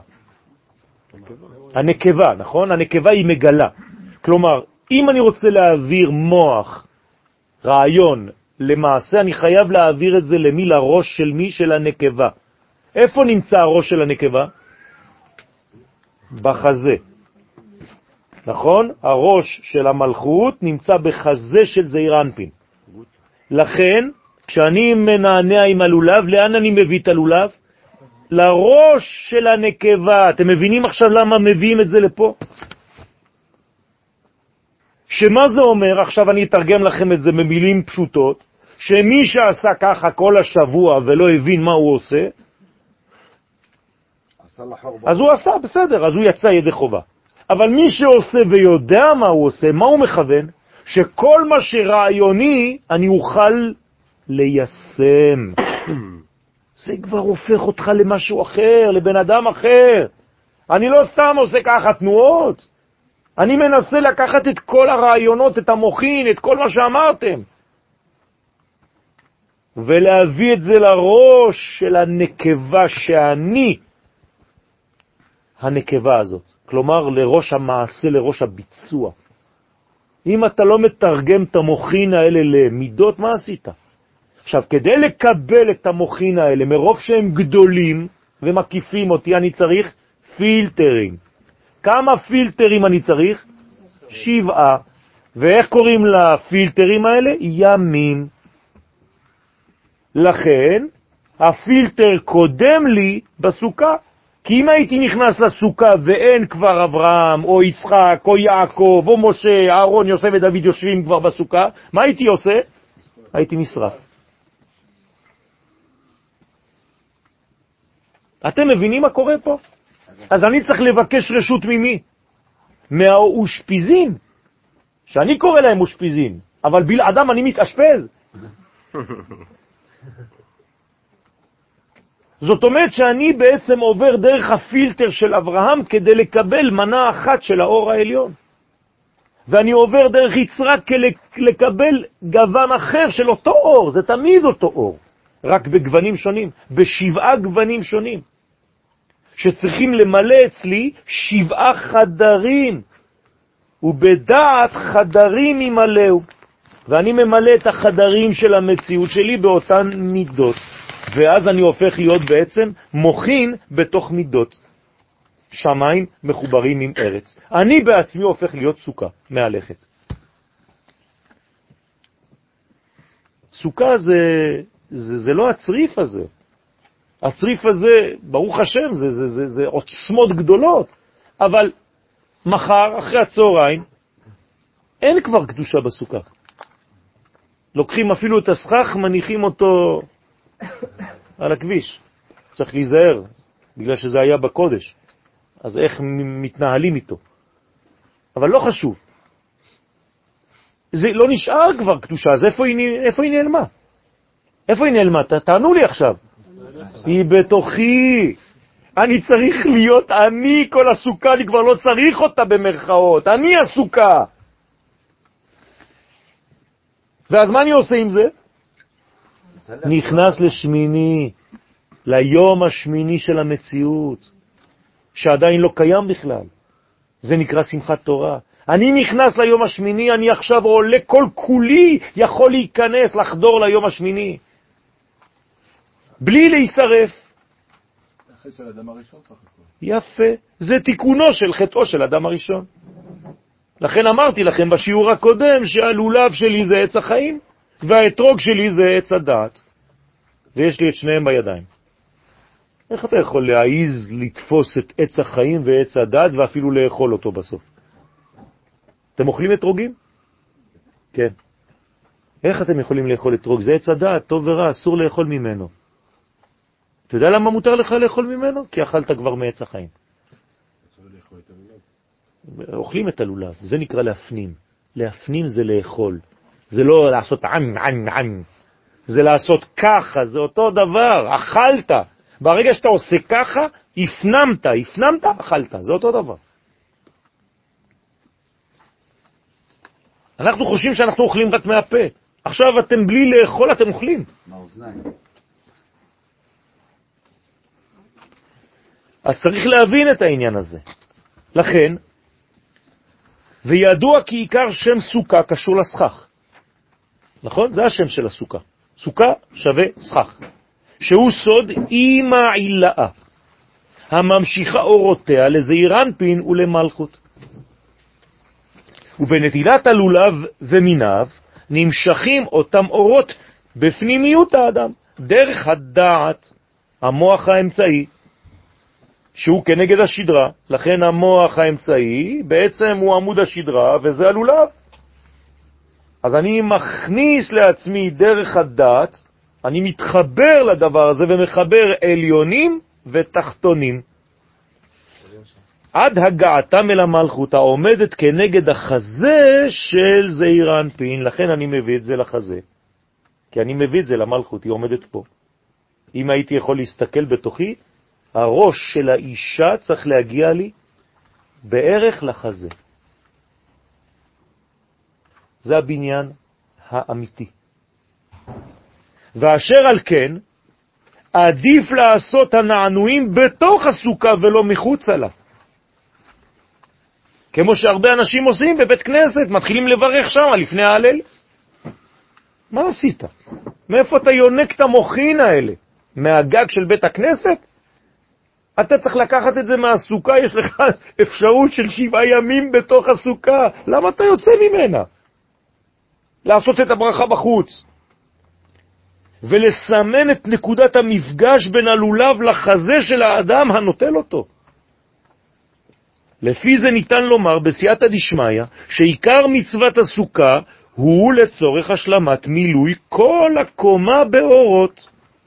הנקבה, נכון? הנקבה היא מגלה. כלומר, אם אני רוצה להעביר מוח, רעיון, למעשה, אני חייב להעביר את זה למי? לראש של מי? של הנקבה. איפה נמצא הראש של הנקבה? בחזה. נכון? הראש של המלכות נמצא בחזה של זעיר אנפין. לכן, כשאני מנענע עם הלולב, לאן אני מביא את הלולב? לראש של הנקבה. אתם מבינים עכשיו למה מביאים את זה לפה? שמה זה אומר? עכשיו אני אתרגם לכם את זה במילים פשוטות, שמי שעשה ככה כל השבוע ולא הבין מה הוא עושה, אז הוא עשה, בסדר, אז הוא יצא ידי חובה. אבל מי שעושה ויודע מה הוא עושה, מה הוא מכוון? שכל מה שרעיוני אני אוכל ליישם. זה כבר הופך אותך למשהו אחר, לבן אדם אחר. אני לא סתם עושה ככה תנועות, אני מנסה לקחת את כל הרעיונות, את המוחין, את כל מה שאמרתם, ולהביא את זה לראש של הנקבה שאני, הנקבה הזאת. כלומר, לראש המעשה, לראש הביצוע. אם אתה לא מתרגם את המוחין האלה למידות, מה עשית? עכשיו, כדי לקבל את המוחין האלה, מרוב שהם גדולים ומקיפים אותי, אני צריך פילטרים. כמה פילטרים אני צריך? שבעה. ואיך קוראים לפילטרים האלה? ימים. לכן, הפילטר קודם לי בסוכה. כי אם הייתי נכנס לסוכה ואין כבר אברהם, או יצחק, או יעקב, או משה, אהרון, יוסף ודוד יושבים כבר בסוכה, מה הייתי עושה? הייתי נשרף. אתם מבינים מה קורה פה? אז אני צריך לבקש רשות ממי? מהאושפיזין, שאני קורא להם אושפיזין, אבל בלעדם אני מתאשפז. זאת אומרת שאני בעצם עובר דרך הפילטר של אברהם כדי לקבל מנה אחת של האור העליון. ואני עובר דרך יצחק כדי לקבל גוון אחר של אותו אור, זה תמיד אותו אור, רק בגוונים שונים, בשבעה גוונים שונים. שצריכים למלא אצלי שבעה חדרים, ובדעת חדרים ימלאו. ואני ממלא את החדרים של המציאות שלי באותן מידות. ואז אני הופך להיות בעצם מוחין בתוך מידות. שמיים מחוברים עם ארץ. אני בעצמי הופך להיות סוכה מהלכת. סוכה זה, זה, זה לא הצריף הזה. הצריף הזה, ברוך השם, זה, זה, זה, זה עוצמות גדולות. אבל מחר, אחרי הצהריים, אין כבר קדושה בסוכה. לוקחים אפילו את הסכך, מניחים אותו על הכביש. צריך להיזהר, בגלל שזה היה בקודש. אז איך מתנהלים איתו? אבל לא חשוב. זה לא נשאר כבר קדושה, אז איפה היא, איפה היא נעלמה? איפה היא נעלמה? תענו לי עכשיו. היא בתוכי. אני צריך להיות אני כל הסוכה, אני כבר לא צריך אותה במרכאות. אני הסוכה. ואז מה אני עושה עם זה? נכנס לשמיני, ליום השמיני של המציאות, שעדיין לא קיים בכלל. זה נקרא שמחת תורה. אני נכנס ליום השמיני, אני עכשיו עולה כל כולי, יכול להיכנס, לחדור ליום השמיני. בלי להישרף. החטא של אדם הראשון סך הכל. יפה. זה תיקונו של חטאו של אדם הראשון. לכן אמרתי לכם בשיעור הקודם שהלולב שלי זה עץ החיים, והאתרוג שלי זה עץ הדעת. ויש לי את שניהם בידיים. איך אתה יכול להעיז לתפוס את עץ החיים ועץ הדעת ואפילו לאכול אותו בסוף? אתם אוכלים אתרוגים? כן. איך אתם יכולים לאכול אתרוג? זה עץ הדעת, טוב ורע, אסור לאכול ממנו. אתה יודע למה מותר לך לאכול ממנו? כי אכלת כבר מעץ החיים. אוכלים את הלולב, זה נקרא להפנים. להפנים זה לאכול. זה לא לעשות עם, עם, עם. זה לעשות ככה, זה אותו דבר, אכלת. ברגע שאתה עושה ככה, הפנמת, הפנמת, אכלת, זה אותו דבר. אנחנו חושבים שאנחנו אוכלים רק מהפה. עכשיו אתם בלי לאכול, אתם אוכלים. מהאוזניים. אז צריך להבין את העניין הזה. לכן, וידוע כי עיקר שם סוכה קשור לסכך. נכון? זה השם של הסוכה. סוכה שווה סכך. שהוא סוד אימא עילאה, הממשיכה אורותיה לזעיר אנפין ולמלכות. ובנטילת הלולב ומיניו נמשכים אותם אורות בפנימיות האדם, דרך הדעת, המוח האמצעי, שהוא כנגד השדרה. לכן המוח האמצעי בעצם הוא עמוד השדרה, וזה הלולב. אז אני מכניס לעצמי דרך הדעת, אני מתחבר לדבר הזה ומחבר עליונים ותחתונים. עד הגעתם אל המלכות העומדת כנגד החזה של זעיר אנפין. לכן אני מביא את זה לחזה, כי אני מביא את זה למלכות, היא עומדת פה. אם הייתי יכול להסתכל בתוכי, הראש של האישה צריך להגיע לי בערך לחזה. זה הבניין האמיתי. ואשר על כן, עדיף לעשות הנענועים בתוך הסוכה ולא מחוץ לה. כמו שהרבה אנשים עושים בבית כנסת, מתחילים לברך שם לפני ההלל. מה עשית? מאיפה אתה יונק את המוחין האלה? מהגג של בית הכנסת? אתה צריך לקחת את זה מהסוכה, יש לך אפשרות של שבעה ימים בתוך הסוכה. למה אתה יוצא ממנה? לעשות את הברכה בחוץ. ולסמן את נקודת המפגש בין הלולב לחזה של האדם הנוטל אותו. לפי זה ניתן לומר בסייעתא דשמיא שעיקר מצוות הסוכה הוא לצורך השלמת מילוי כל הקומה באורות.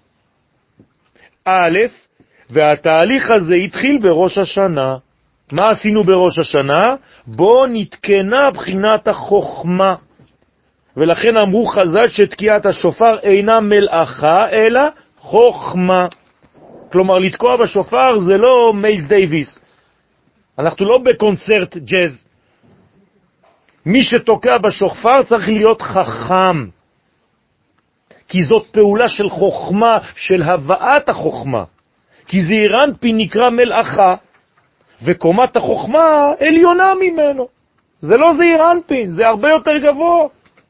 א', והתהליך הזה התחיל בראש השנה. מה עשינו בראש השנה? בו נתקנה בחינת החוכמה. ולכן אמרו חז"ל שתקיעת השופר אינה מלאכה אלא חוכמה. כלומר, לתקוע בשופר זה לא מיילס דייוויס. אנחנו לא בקונצרט ג'אז. מי שתוקע בשופר צריך להיות חכם. כי זאת פעולה של חוכמה, של הבאת החוכמה. כי זעיר אנפין נקרא מלאכה, וקומת החוכמה עליונה ממנו. זה לא זעיר אנפין, זה הרבה יותר גבוה.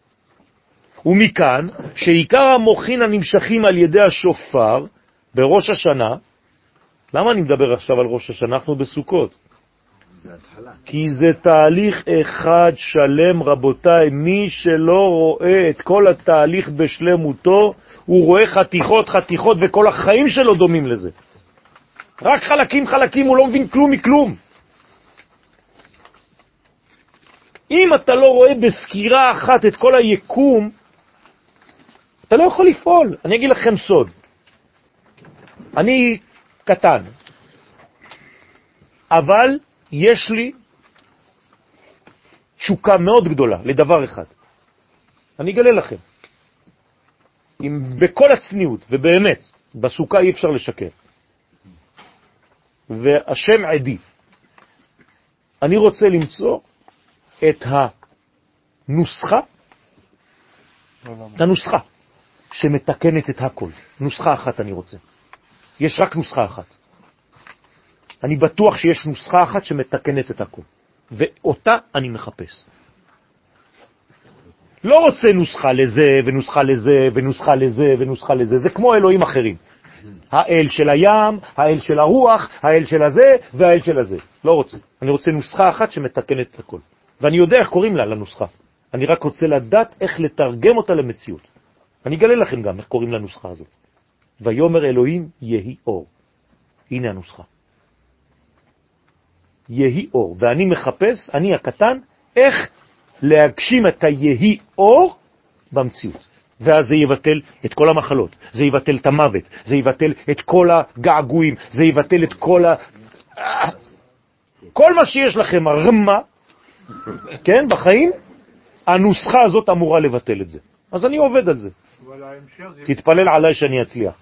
ומכאן שעיקר המוחין הנמשכים על ידי השופר בראש השנה, למה אני מדבר עכשיו על ראש השנה? אנחנו בסוכות. כי זה תהליך אחד שלם, רבותיי. מי שלא רואה את כל התהליך בשלמותו, הוא רואה חתיכות חתיכות, וכל החיים שלו דומים לזה. רק חלקים חלקים, הוא לא מבין כלום מכלום. אם אתה לא רואה בסקירה אחת את כל היקום, אתה לא יכול לפעול. אני אגיד לכם סוד. אני קטן, אבל יש לי תשוקה מאוד גדולה לדבר אחד. אני אגלה לכם. אם בכל הצניעות, ובאמת, בסוכה אי אפשר לשקר. והשם עדי. אני רוצה למצוא את הנוסחה, את הנוסחה שמתקנת את הכל. נוסחה אחת אני רוצה. יש רק נוסחה אחת. אני בטוח שיש נוסחה אחת שמתקנת את הכל. ואותה אני מחפש. לא רוצה נוסחה לזה, ונוסחה לזה, ונוסחה לזה, ונוסחה לזה. זה כמו אלוהים אחרים. האל של הים, האל של הרוח, האל של הזה, והאל של הזה. לא רוצה. אני רוצה נוסחה אחת שמתקנת את הכל. ואני יודע איך קוראים לה, לנוסחה. אני רק רוצה לדעת איך לתרגם אותה למציאות. אני אגלה לכם גם איך קוראים לנוסחה הזאת. ויאמר אלוהים יהי אור. הנה הנוסחה. יהי אור. ואני מחפש, אני הקטן, איך להגשים את היהי אור במציאות. ואז זה יבטל את כל המחלות, זה יבטל את המוות, זה יבטל את כל הגעגועים, זה יבטל את כל ה... כל מה שיש לכם, הרמה, כן, בחיים, הנוסחה הזאת אמורה לבטל את זה. אז אני עובד על זה. תתפלל עליי שאני אצליח.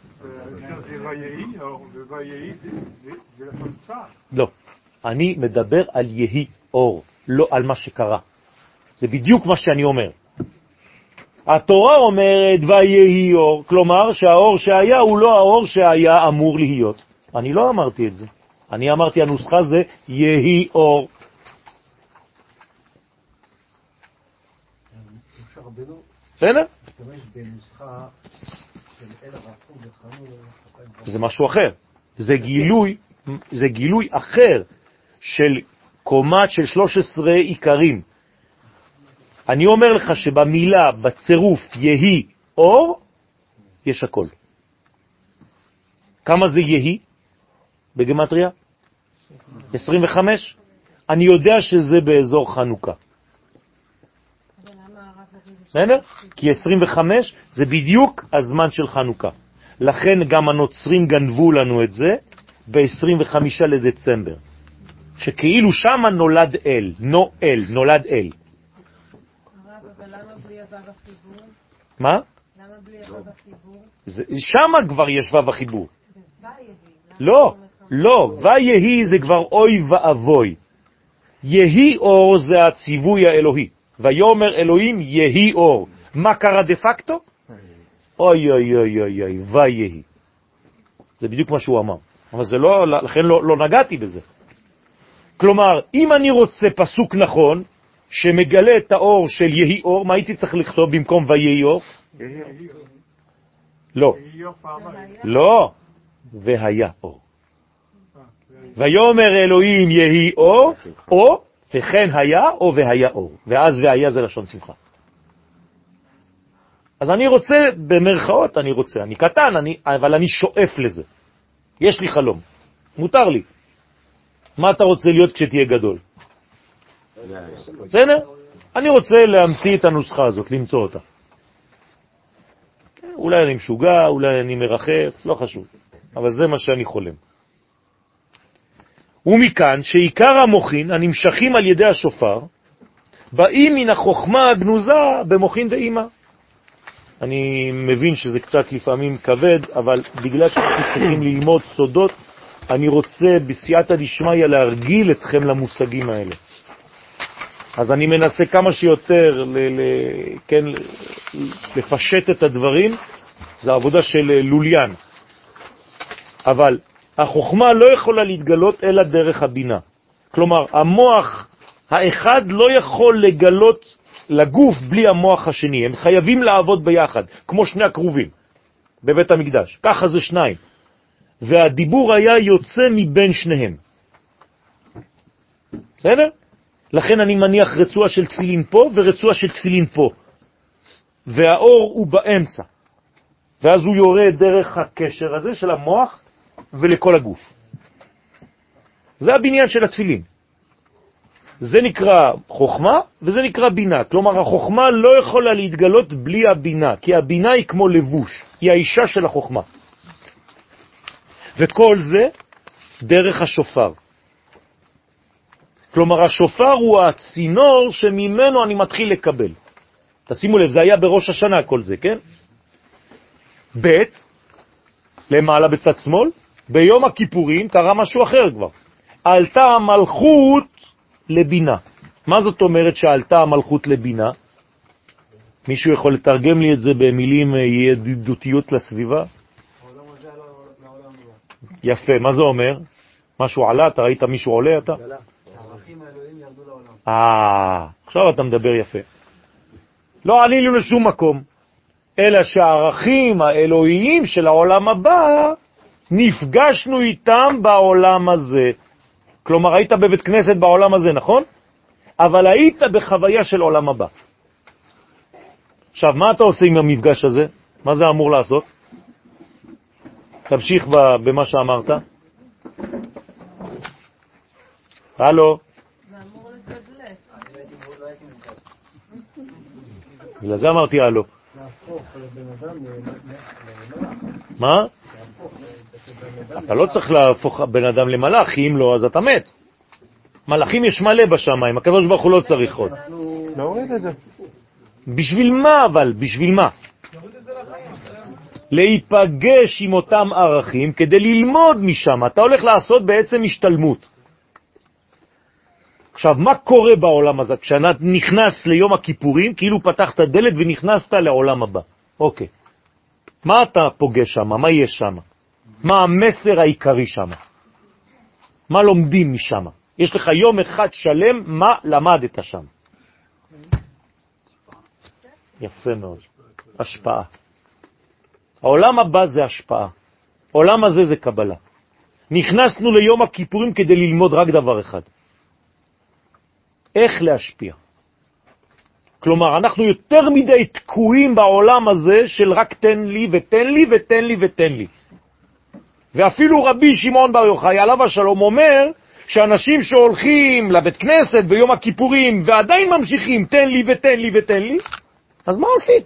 לא, אני מדבר על יהי אור, לא על מה שקרה. זה בדיוק מה שאני אומר. התורה אומרת ויהי אור, כלומר שהאור שהיה הוא לא האור שהיה אמור להיות. אני לא אמרתי את זה. אני אמרתי הנוסחה זה יהי אור. אפשר רבנו בסדר? להשתמש בנוסחה של אל הרפו וחנו. זה משהו אחר. זה גילוי, זה גילוי אחר של קומת של שלוש עשרה עיקרים. אני אומר לך שבמילה, בצירוף יהי אור, יש הכל. כמה זה יהי בגמטריה? עשרים וחמש. אני יודע שזה באזור חנוכה. בסדר? כי עשרים וחמש זה בדיוק הזמן של חנוכה. לכן גם הנוצרים גנבו לנו את זה ב-עשרים וחמישה לדצמבר. שכאילו שמה נולד אל, נואל, נולד אל. אבל למה בלי הוו החיבור? מה? למה בלי הוו החיבור? שמה כבר יש וו החיבור. לא, לא, ויהי זה כבר אוי ואבוי. יהי אור זה הציווי האלוהי. ויאמר אלוהים יהי אור. מה קרה דה פקטו? אוי אוי אוי אוי אוי, ויהי. זה בדיוק מה שהוא אמר. אבל זה לא, לכן לא, לא נגעתי בזה. כלומר, אם אני רוצה פסוק נכון, שמגלה את האור של יהי אור, מה הייתי צריך לכתוב במקום ויהי אור? לא. לא. והיה אור. ויאמר אלוהים יהי אור, או וכן היה, או והיה אור. ואז והיה זה לשון שמחה. אז אני רוצה, במרכאות אני רוצה, אני קטן, אני, אבל אני שואף לזה. יש לי חלום. מותר לי. מה אתה רוצה להיות כשתהיה גדול? בסדר? אני רוצה להמציא את הנוסחה הזאת, למצוא אותה. אולי אני משוגע, אולי אני מרחף, לא חשוב. אבל זה מה שאני חולם. ומכאן שעיקר המוחין הנמשכים על ידי השופר באים מן החוכמה הגנוזה במוחין דאימה. אני מבין שזה קצת לפעמים כבד, אבל בגלל שאנחנו צריכים ללמוד סודות, אני רוצה בסייעתא דשמיא להרגיל אתכם למושגים האלה. אז אני מנסה כמה שיותר ל- ל- כן, לפשט את הדברים. זה עבודה של לוליין. אבל החוכמה לא יכולה להתגלות אלא דרך הבינה. כלומר, המוח האחד לא יכול לגלות לגוף בלי המוח השני. הם חייבים לעבוד ביחד, כמו שני הקרובים בבית המקדש. ככה זה שניים. והדיבור היה יוצא מבין שניהם. בסדר? לכן אני מניח רצועה של תפילין פה ורצועה של תפילין פה. והאור הוא באמצע. ואז הוא יורד דרך הקשר הזה של המוח ולכל הגוף. זה הבניין של התפילין. זה נקרא חוכמה וזה נקרא בינה. כלומר, החוכמה לא יכולה להתגלות בלי הבינה, כי הבינה היא כמו לבוש, היא האישה של החוכמה. וכל זה דרך השופר. כלומר, השופר הוא הצינור שממנו אני מתחיל לקבל. תשימו לב, זה היה בראש השנה כל זה, כן? ב' למעלה בצד שמאל, ביום הכיפורים קרה משהו אחר כבר. עלתה המלכות לבינה. מה זאת אומרת שעלתה המלכות לבינה? מישהו יכול לתרגם לי את זה במילים ידידותיות לסביבה? יפה, מה זה אומר? משהו עלה, אתה ראית מישהו עולה אתה? הערכים האלוהים ירדו לעולם. אה, עכשיו אתה מדבר יפה. לא עלינו לשום מקום, אלא שהערכים האלוהיים של העולם הבא, נפגשנו איתם בעולם הזה. כלומר, היית בבית כנסת בעולם הזה, נכון? אבל היית בחוויה של עולם הבא. עכשיו, מה אתה עושה עם המפגש הזה? מה זה אמור לעשות? תמשיך במה שאמרת. הלו? זה אמור לתדלק. בגלל זה אמרתי הלו. מה? אתה לא צריך להפוך בן אדם למלאך, אם לא אז אתה מת. מלאכים יש מלא בשמיים, הקדוש ברוך הוא לא צריך עוד. להוריד את זה. בשביל מה אבל? בשביל מה? להיפגש עם אותם ערכים כדי ללמוד משם. אתה הולך לעשות בעצם השתלמות. עכשיו, מה קורה בעולם הזה? כשאתה נכנס ליום הכיפורים, כאילו פתחת דלת ונכנסת לעולם הבא. אוקיי. מה אתה פוגש שם? מה יש שם? מה המסר העיקרי שם? מה לומדים משם? יש לך יום אחד שלם, מה למדת שם? יפה מאוד. השפעה. העולם הבא זה השפעה. העולם הזה זה קבלה. נכנסנו ליום הכיפורים כדי ללמוד רק דבר אחד. איך להשפיע. כלומר, אנחנו יותר מדי תקועים בעולם הזה של רק תן לי ותן לי ותן לי ותן לי. ואפילו רבי שמעון בר יוחאי עליו השלום אומר שאנשים שהולכים לבית כנסת ביום הכיפורים ועדיין ממשיכים תן לי ותן לי ותן לי, אז מה עשית?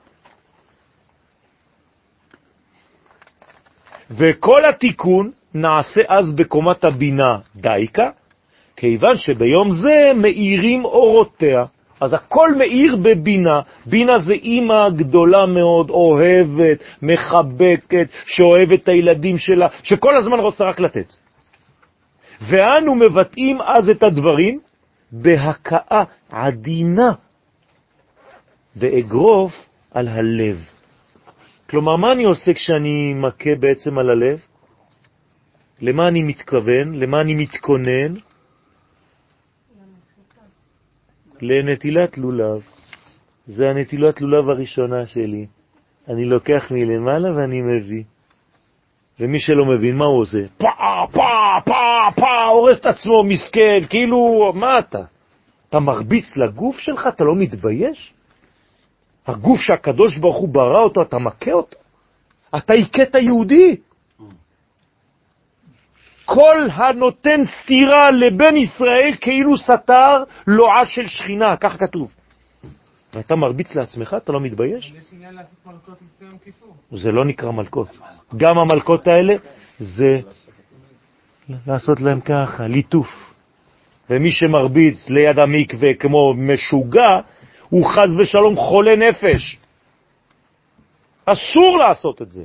וכל התיקון נעשה אז בקומת הבינה דייקה, כיוון שביום זה מאירים אורותיה. אז הכל מאיר בבינה. בינה זה אימא גדולה מאוד, אוהבת, מחבקת, שאוהבת את הילדים שלה, שכל הזמן רוצה רק לתת. ואנו מבטאים אז את הדברים בהכאה עדינה, באגרוף על הלב. כלומר, מה אני עושה כשאני מכה בעצם על הלב? למה אני מתכוון? למה אני מתכונן? לנטילת לולב. זה הנטילת לולב הראשונה שלי. אני לוקח מלמעלה ואני מביא. ומי שלא מבין, מה הוא עושה? פא, פא, פא, פא, הורס את עצמו, מסכן, כאילו, מה אתה? אתה מרביץ לגוף שלך? אתה לא מתבייש? הגוף שהקדוש ברוך הוא ברא אותו, אתה מכה אותו? אתה עיקת היהודי? כל הנותן סתירה לבן ישראל כאילו סתר לועה של שכינה, כך כתוב. ואתה מרביץ לעצמך, אתה לא מתבייש? יש עניין לעשות מלכות לפני יום כיפור. זה לא נקרא מלכות. גם המלכות האלה זה לעשות להם ככה, ליטוף. ומי שמרביץ ליד המקווה כמו משוגע, הוא חז ושלום חולה נפש. אסור לעשות את זה.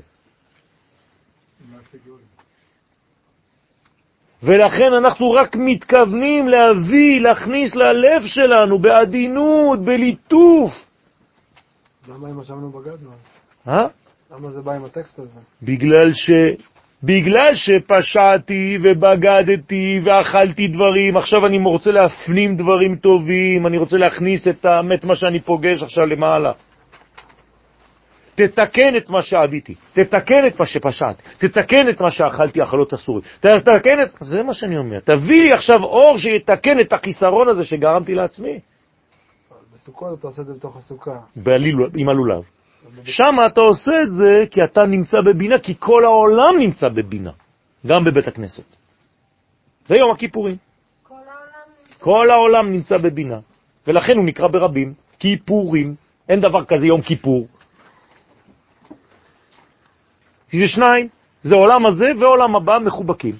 ולכן אנחנו רק מתכוונים להביא, להכניס ללב שלנו בעדינות, בליטוף. למה אם ישבנו בגדנו? אה? למה זה בא עם הטקסט הזה? בגלל ש... בגלל שפשעתי ובגדתי ואכלתי דברים, עכשיו אני רוצה להפנים דברים טובים, אני רוצה להכניס את האמת מה שאני פוגש עכשיו למעלה. תתקן את מה שעביתי, תתקן את מה שפשעת, תתקן את מה שאכלתי אכלות אסורים, תתקן את... זה מה שאני אומר. תביא לי עכשיו אור שיתקן את החיסרון הזה שגרמתי לעצמי. בסוכות אתה עושה את זה בתוך הסוכה. עם הלולב. שם אתה עושה את זה כי אתה נמצא בבינה, כי כל העולם נמצא בבינה, גם בבית הכנסת. זה יום הכיפורים. כל העולם נמצא, כל העולם נמצא בבינה, ולכן הוא נקרא ברבים כיפורים. אין דבר כזה יום כיפור. זה שניים, זה עולם הזה ועולם הבא מחובקים.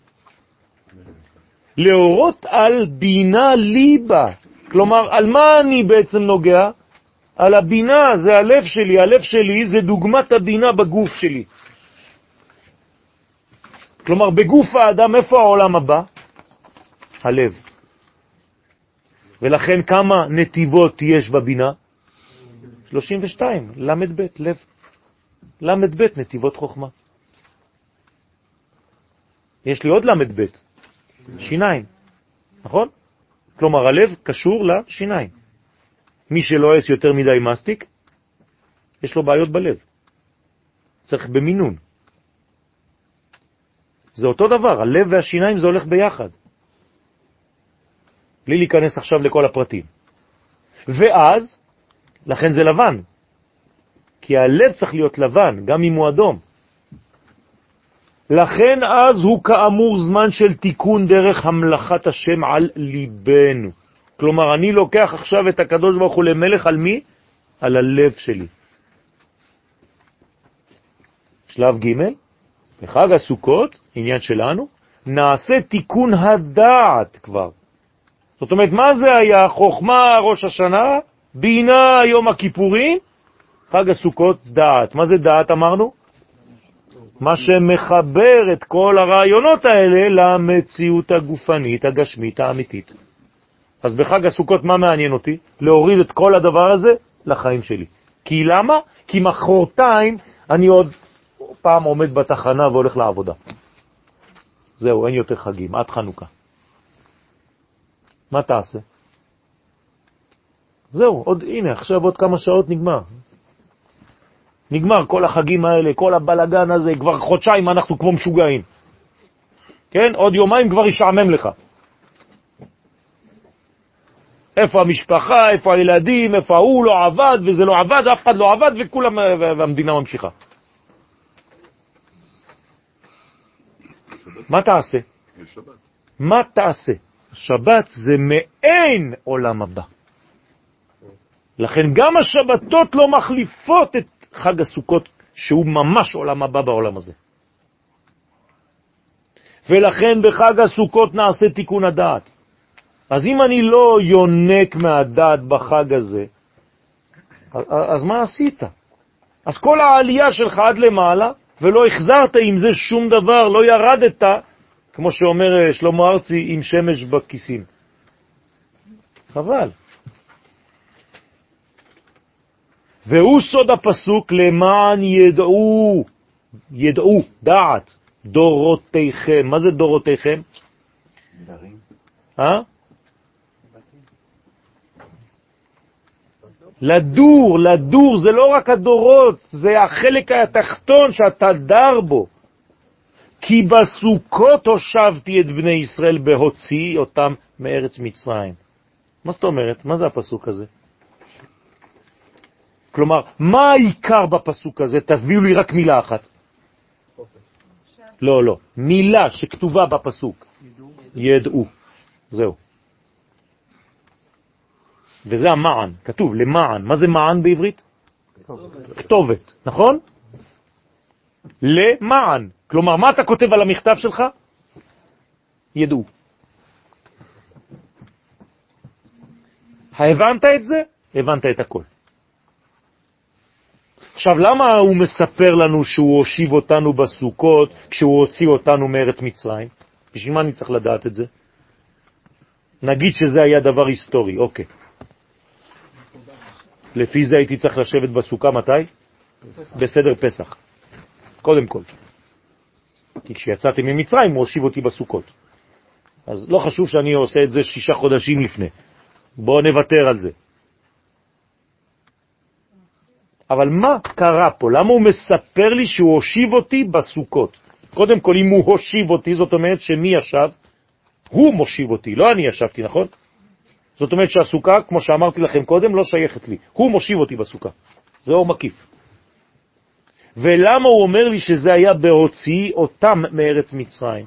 להורות על בינה ליבה. כלומר, על מה אני בעצם נוגע? על הבינה, זה הלב שלי. הלב שלי זה דוגמת הבינה בגוף שלי. כלומר, בגוף האדם, איפה העולם הבא? הלב. ולכן כמה נתיבות יש בבינה? שלושים ושתיים, למד בית, לב. למד בית, נתיבות חוכמה. יש לי עוד למד בית, שיניים, נכון? כלומר, הלב קשור לשיניים. מי שלא עש יותר מדי מסטיק, יש לו בעיות בלב. צריך במינון. זה אותו דבר, הלב והשיניים זה הולך ביחד. בלי להיכנס עכשיו לכל הפרטים. ואז, לכן זה לבן. כי הלב צריך להיות לבן, גם אם הוא אדום. לכן אז הוא כאמור זמן של תיקון דרך המלאכת השם על ליבנו. כלומר, אני לוקח עכשיו את הקדוש ברוך הוא למלך על מי? על הלב שלי. שלב ג' בחג הסוכות, עניין שלנו, נעשה תיקון הדעת כבר. זאת אומרת, מה זה היה? חוכמה ראש השנה, בינה יום הכיפורים, חג הסוכות דעת. מה זה דעת אמרנו? מה שמחבר את כל הרעיונות האלה למציאות הגופנית, הגשמית, האמיתית. אז בחג הסוכות מה מעניין אותי? להוריד את כל הדבר הזה לחיים שלי. כי למה? כי מחרתיים אני עוד פעם עומד בתחנה והולך לעבודה. זהו, אין יותר חגים, עד חנוכה. מה תעשה? זהו, עוד, הנה, עכשיו עוד כמה שעות נגמר. נגמר כל החגים האלה, כל הבלגן הזה, כבר חודשיים אנחנו כמו משוגעים. כן? עוד יומיים כבר ישעמם לך. איפה המשפחה, איפה הילדים, איפה הוא לא עבד וזה לא עבד, אף אחד לא עבד וכולם, והמדינה ממשיכה. מה תעשה? מה תעשה? שבת זה מעין עולם הבא. לכן גם השבתות לא מחליפות את חג הסוכות, שהוא ממש עולם הבא בעולם הזה. ולכן בחג הסוכות נעשה תיקון הדעת. אז אם אני לא יונק מהדעת בחג הזה, אז מה עשית? אז כל העלייה שלך עד למעלה, ולא החזרת עם זה שום דבר, לא ירדת, כמו שאומר שלמה ארצי, עם שמש בכיסים. חבל. והוא סוד הפסוק, למען ידעו, ידעו, דעת, דורותיכם. מה זה דורותיכם? דרים. אה? לדור, לדור, זה לא רק הדורות, זה החלק התחתון שאתה דר בו. כי בסוכות הושבתי את בני ישראל בהוציא אותם מארץ מצרים. מה זאת אומרת? מה זה הפסוק הזה? כלומר, מה העיקר בפסוק הזה? תביאו לי רק מילה אחת. לא, לא. מילה שכתובה בפסוק. ידעו. זהו. וזה המען. כתוב למען. מה זה מען בעברית? כתובת. נכון? למען. כלומר, מה אתה כותב על המכתב שלך? ידעו. הבנת את זה? הבנת את הכל. עכשיו, למה הוא מספר לנו שהוא הושיב אותנו בסוכות כשהוא הוציא אותנו מארץ מצרים? בשביל מה אני צריך לדעת את זה? נגיד שזה היה דבר היסטורי, אוקיי. לפי זה הייתי צריך לשבת בסוכה מתי? בסדר פסח. קודם כל. כי כשיצאתי ממצרים הוא הושיב אותי בסוכות. אז לא חשוב שאני עושה את זה שישה חודשים לפני. בואו נוותר על זה. אבל מה קרה פה? למה הוא מספר לי שהוא הושיב אותי בסוכות? קודם כל, אם הוא הושיב אותי, זאת אומרת שמי ישב? הוא מושיב אותי, לא אני ישבתי, נכון? זאת אומרת שהסוכה, כמו שאמרתי לכם קודם, לא שייכת לי. הוא מושיב אותי בסוכה. זה אור מקיף. ולמה הוא אומר לי שזה היה בהוציא אותם מארץ מצרים?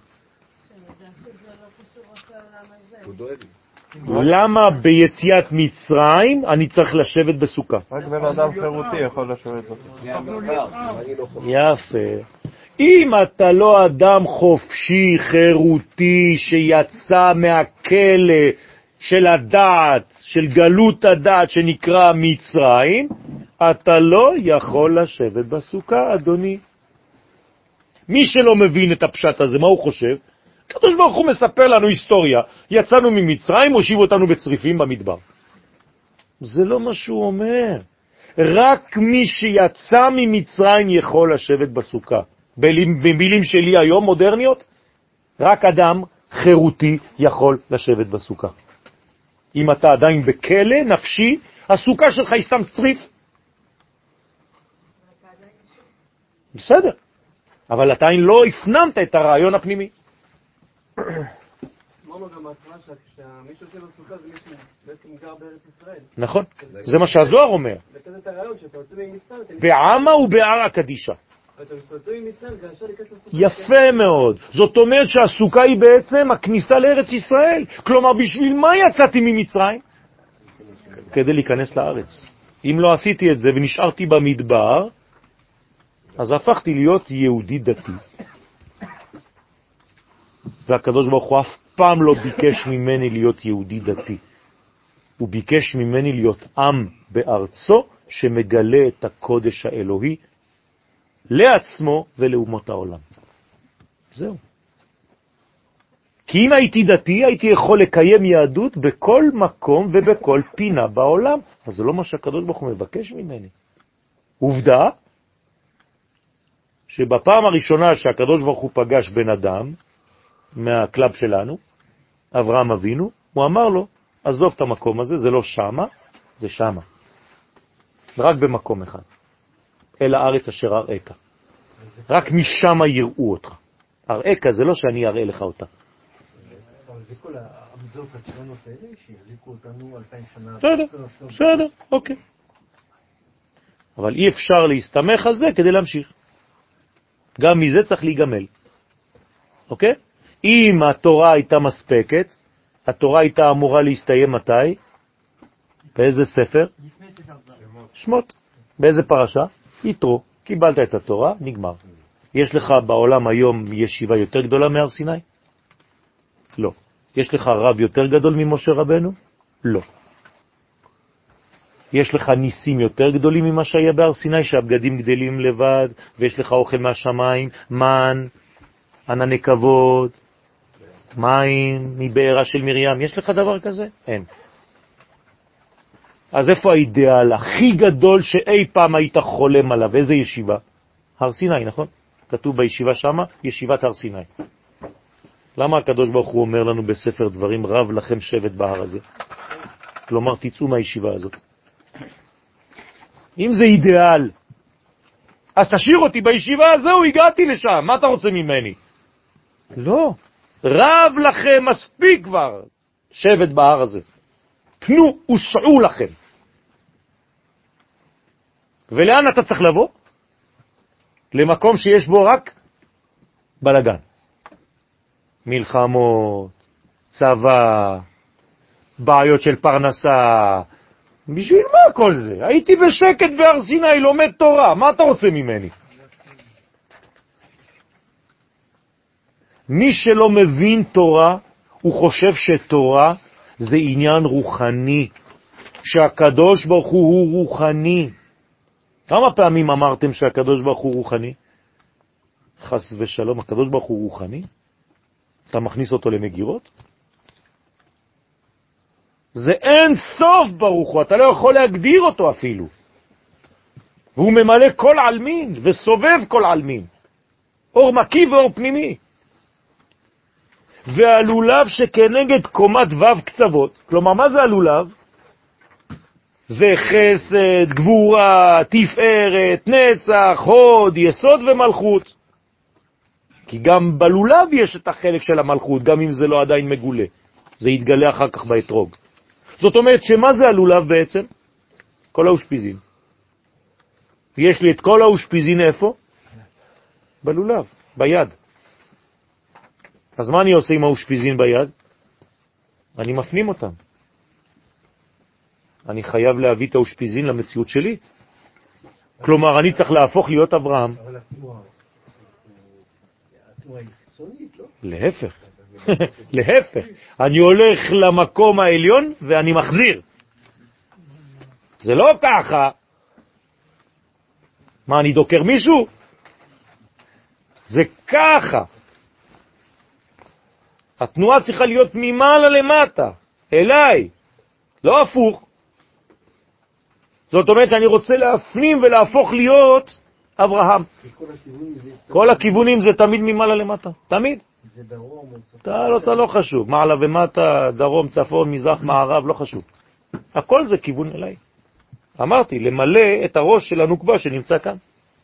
למה ביציאת מצרים אני צריך לשבת בסוכה? רק בן אדם חירותי יכול לשבת בסוכה. יפה. אם אתה לא אדם חופשי, חירותי, שיצא מהכלא של הדעת, של גלות הדעת שנקרא מצרים, אתה לא יכול לשבת בסוכה, אדוני. מי שלא מבין את הפשט הזה, מה הוא חושב? הקדוש ברוך הוא מספר לנו היסטוריה. יצאנו ממצרים, הושיב אותנו בצריפים במדבר. זה לא מה שהוא אומר. רק מי שיצא ממצרים יכול לשבת בסוכה. במילים שלי היום, מודרניות, רק אדם חירותי יכול לשבת בסוכה. אם אתה עדיין בכלא נפשי, הסוכה שלך היא סתם צריף. בסדר. אבל אתה לא הפנמת את הרעיון הפנימי. אמרנו גם בהתחלה שמי שיושב בסוכה זה מישהו בעצם גר בארץ ישראל. נכון, זה מה שהזוהר אומר. זה כזה את הרעיון שאתה יוצא ממצרים. בעמה ובער הקדישה. אתה יוצא ממצרים זה ישר להיכנס לסוכה. יפה מאוד. זאת אומרת שהסוכה היא בעצם הכניסה לארץ ישראל. כלומר, בשביל מה יצאתי ממצרים? כדי להיכנס לארץ. אם לא עשיתי את זה ונשארתי במדבר, אז הפכתי להיות יהודי דתי. והקדוש ברוך הוא אף פעם לא ביקש ממני להיות יהודי דתי. הוא ביקש ממני להיות עם בארצו שמגלה את הקודש האלוהי לעצמו ולאומות העולם. זהו. כי אם הייתי דתי, הייתי יכול לקיים יהדות בכל מקום ובכל פינה בעולם. אז זה לא מה שהקדוש ברוך הוא מבקש ממני. עובדה, שבפעם הראשונה שהקדוש ברוך הוא פגש בן אדם, מהקלאב שלנו, אברהם אבינו, הוא אמר לו, עזוב את המקום הזה, זה לא שמה, זה שמה. רק במקום אחד. אל הארץ אשר אראך. רק משם יראו אותך. אראך זה לא שאני אראה לך אותה. אבל זה כל העמדות הציונות האלה שיחזיקו אותנו אלפיים שנה. בסדר, בסדר, אוקיי. אבל אי אפשר להסתמך על זה כדי להמשיך. גם מזה צריך להיגמל. אוקיי? אם התורה הייתה מספקת, התורה הייתה אמורה להסתיים מתי? באיזה ספר? שמות. באיזה פרשה? יתרו. קיבלת את התורה, נגמר. יש לך בעולם היום ישיבה יותר גדולה מהר סיני? לא. יש לך רב יותר גדול ממשה רבנו? לא. יש לך ניסים יותר גדולים ממה שהיה בהר סיני, שהבגדים גדלים לבד, ויש לך אוכל מהשמיים, מן, ענני כבוד, מים מבארה של מרים. יש לך דבר כזה? אין. אז איפה האידאל הכי גדול שאי פעם היית חולם עליו? איזה ישיבה? הר סיני, נכון? כתוב בישיבה שמה, ישיבת הר סיני. למה הקדוש ברוך הוא אומר לנו בספר דברים, רב לכם שבט בהר הזה? כלומר, תצאו מהישיבה הזאת. אם זה אידאל, אז תשאיר אותי בישיבה הזו, הגעתי לשם, מה אתה רוצה ממני? לא, רב לכם מספיק כבר שבט בהר הזה. תנו וסעו לכם. ולאן אתה צריך לבוא? למקום שיש בו רק בלגן. מלחמות, צבא, בעיות של פרנסה. בשביל מה כל זה? הייתי בשקט בהר סיני, לומד תורה, מה אתה רוצה ממני? מי שלא מבין תורה, הוא חושב שתורה זה עניין רוחני, שהקדוש ברוך הוא הוא רוחני. כמה פעמים אמרתם שהקדוש ברוך הוא רוחני? חס ושלום, הקדוש ברוך הוא רוחני? אתה מכניס אותו למגירות? זה אין סוף ברוך הוא, אתה לא יכול להגדיר אותו אפילו. והוא ממלא כל אלמין וסובב כל אלמין. אור מקי ואור פנימי. והלולב שכנגד קומת ו' קצוות, כלומר מה זה הלולב? זה חסד, גבורה, תפארת, נצח, הוד, יסוד ומלכות. כי גם בלולב יש את החלק של המלכות, גם אם זה לא עדיין מגולה. זה יתגלה אחר כך באתרוג. זאת אומרת שמה זה הלולב בעצם? כל האושפיזין. יש לי את כל האושפיזין איפה? בלולב, ביד. אז מה אני עושה עם האושפיזין ביד? אני מפנים אותם. אני חייב להביא את האושפיזין למציאות שלי. כלומר, אני צריך להפוך להיות אברהם. אבל התנועה, התנועה היא חיצונית, לא? להפך. להפך. אני הולך למקום העליון ואני מחזיר. זה לא ככה. מה, אני דוקר מישהו? זה ככה. התנועה צריכה להיות ממעלה למטה, אליי, לא הפוך. זאת אומרת, אני רוצה להפנים ולהפוך להיות אברהם. כל הכיוונים זה תמיד ממעלה למטה, תמיד. זה דרום. אתה לא, אתה לא חשוב, מעלה ומטה, דרום, צפון, מזרח, מערב, לא חשוב. הכל זה כיוון אליי. אמרתי, למלא את הראש של הנוקבה שנמצא כאן.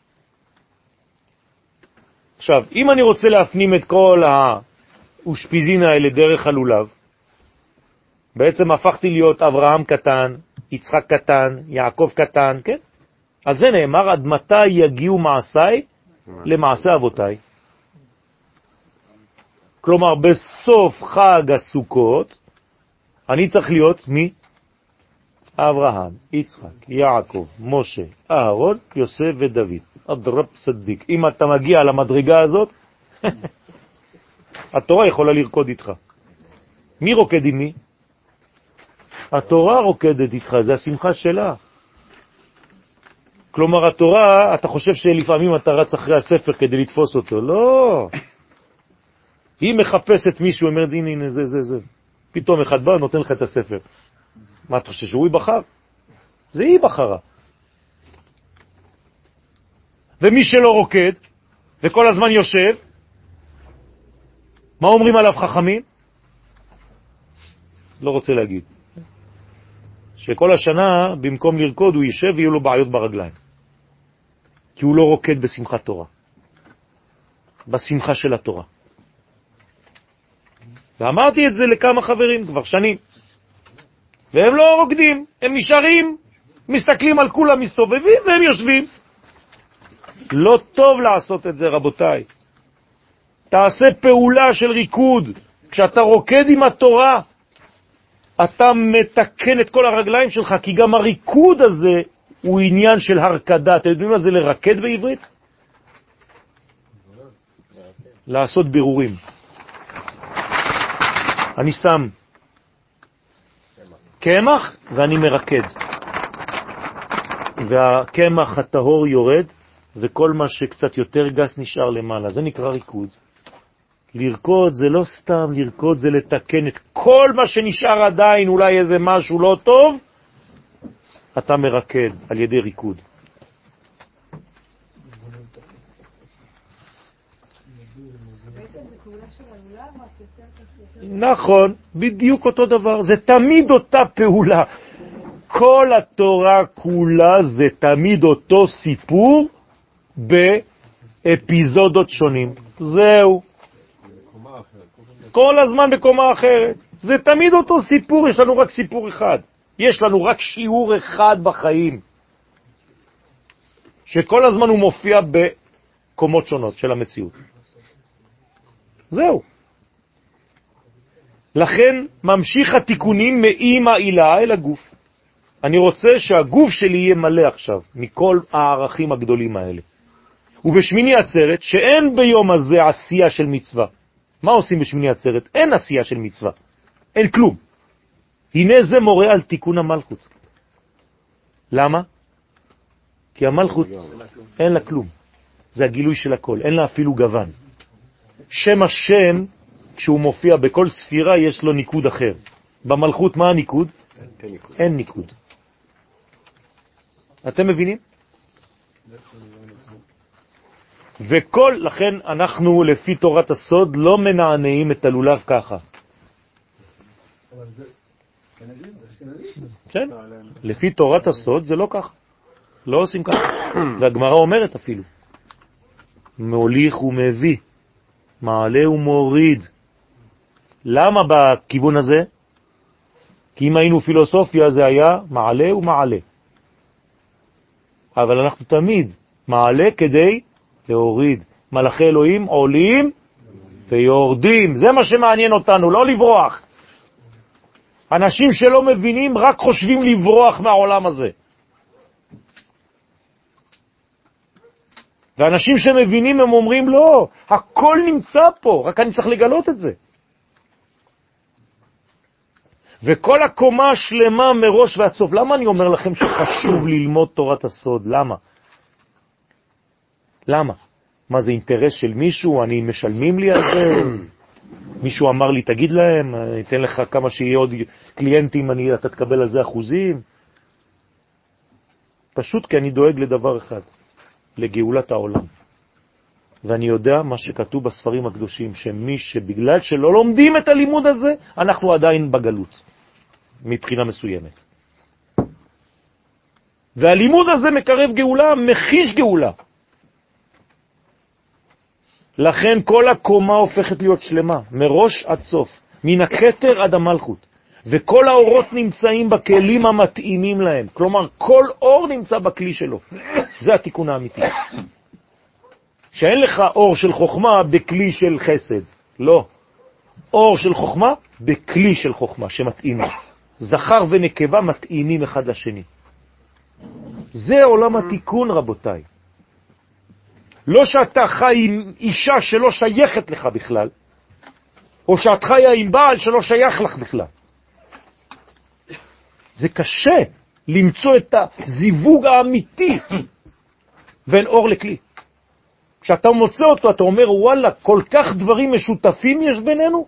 עכשיו, אם אני רוצה להפנים את כל האושפיזין האלה דרך הלולב, בעצם הפכתי להיות אברהם קטן, יצחק קטן, יעקב קטן, כן? על זה נאמר, עד מתי יגיעו מעשיי למעשה אבותיי. כלומר, בסוף חג הסוכות, אני צריך להיות מי? אברהם, יצחק, יעקב, משה, אהרון, יוסף ודוד. אדרב צדיק. אם אתה מגיע למדרגה הזאת, התורה יכולה לרקוד איתך. מי רוקד עם מי? התורה רוקדת איתך, זה השמחה שלה. כלומר, התורה, אתה חושב שלפעמים אתה רץ אחרי הספר כדי לתפוס אותו. לא. היא מחפשת מישהו, אומרת, הנה, הנה, זה, זה, זה. פתאום אחד בא, נותן לך את הספר. מה אתה חושב, שהוא יבחר? זה היא בחרה. ומי שלא רוקד, וכל הזמן יושב, מה אומרים עליו חכמים? לא רוצה להגיד. שכל השנה, במקום לרקוד, הוא יישב ויהיו לו בעיות ברגליים. כי הוא לא רוקד בשמחת תורה. בשמחה של התורה. ואמרתי את זה לכמה חברים כבר שנים. והם לא רוקדים, הם נשארים, מסתכלים על כולם, מסתובבים והם יושבים. לא טוב לעשות את זה, רבותיי. תעשה פעולה של ריקוד. כשאתה רוקד עם התורה, אתה מתקן את כל הרגליים שלך, כי גם הריקוד הזה הוא עניין של הרכדה. אתם יודעים מה זה לרקד בעברית? לעשות בירורים. אני שם קמח ואני מרקד. והקמח הטהור יורד, וכל מה שקצת יותר גס נשאר למעלה. זה נקרא ריקוד. לרקוד זה לא סתם לרקוד, זה לתקן את כל מה שנשאר עדיין, אולי איזה משהו לא טוב, אתה מרקד על ידי ריקוד. נכון, בדיוק אותו דבר, זה תמיד אותה פעולה. כל התורה כולה זה תמיד אותו סיפור באפיזודות שונים. זהו. כל הזמן בקומה אחרת. זה תמיד אותו סיפור, יש לנו רק סיפור אחד. יש לנו רק שיעור אחד בחיים. שכל הזמן הוא מופיע בקומות שונות של המציאות. זהו. לכן ממשיך התיקונים מאמא אילה אל הגוף. אני רוצה שהגוף שלי יהיה מלא עכשיו מכל הערכים הגדולים האלה. ובשמיני עצרת, שאין ביום הזה עשייה של מצווה. מה עושים בשמיני עצרת? אין עשייה של מצווה. אין כלום. הנה זה מורה על תיקון המלכות. למה? כי המלכות אין לה כלום. זה הגילוי של הכל. אין לה אפילו גוון. שם השם, כשהוא מופיע בכל ספירה, יש לו ניקוד אחר. במלכות מה הניקוד? אין ניקוד. אין ניקוד. אתם מבינים? וכל, לכן אנחנו לפי תורת הסוד לא מנענעים את הלולב ככה. כן, לפי תורת הסוד זה לא ככה. לא עושים ככה. והגמרא אומרת אפילו. מוליך ומביא, מעלה ומוריד. למה בכיוון הזה? כי אם היינו פילוסופיה זה היה מעלה ומעלה. אבל אנחנו תמיד מעלה כדי להוריד. מלאכי אלוהים עולים ויורדים. זה מה שמעניין אותנו, לא לברוח. אנשים שלא מבינים רק חושבים לברוח מהעולם הזה. ואנשים שמבינים הם אומרים לא, הכל נמצא פה, רק אני צריך לגלות את זה. וכל הקומה השלמה מראש ועד סוף. למה אני אומר לכם שחשוב ללמוד תורת הסוד? למה? למה? מה זה אינטרס של מישהו? אני משלמים לי על זה? מישהו אמר לי תגיד להם, אני אתן לך כמה שיהיה עוד קליינטים, אני, אתה תקבל על זה אחוזים. פשוט כי אני דואג לדבר אחד, לגאולת העולם. ואני יודע מה שכתוב בספרים הקדושים, שמי שבגלל שלא לומדים את הלימוד הזה, אנחנו עדיין בגלות, מבחינה מסוימת. והלימוד הזה מקרב גאולה, מחיש גאולה. לכן כל הקומה הופכת להיות שלמה, מראש עד סוף, מן הכתר עד המלכות. וכל האורות נמצאים בכלים המתאימים להם. כלומר, כל אור נמצא בכלי שלו. זה התיקון האמיתי. שאין לך אור של חוכמה בכלי של חסד. לא. אור של חוכמה בכלי של חוכמה שמתאים. זכר ונקבה מתאימים אחד לשני. זה עולם התיקון, רבותיי. לא שאתה חי עם אישה שלא שייכת לך בכלל, או שאת חיה עם בעל שלא שייך לך בכלל. זה קשה למצוא את הזיווג האמיתי בין אור לכלי. כשאתה מוצא אותו, אתה אומר, וואלה, כל כך דברים משותפים יש בינינו.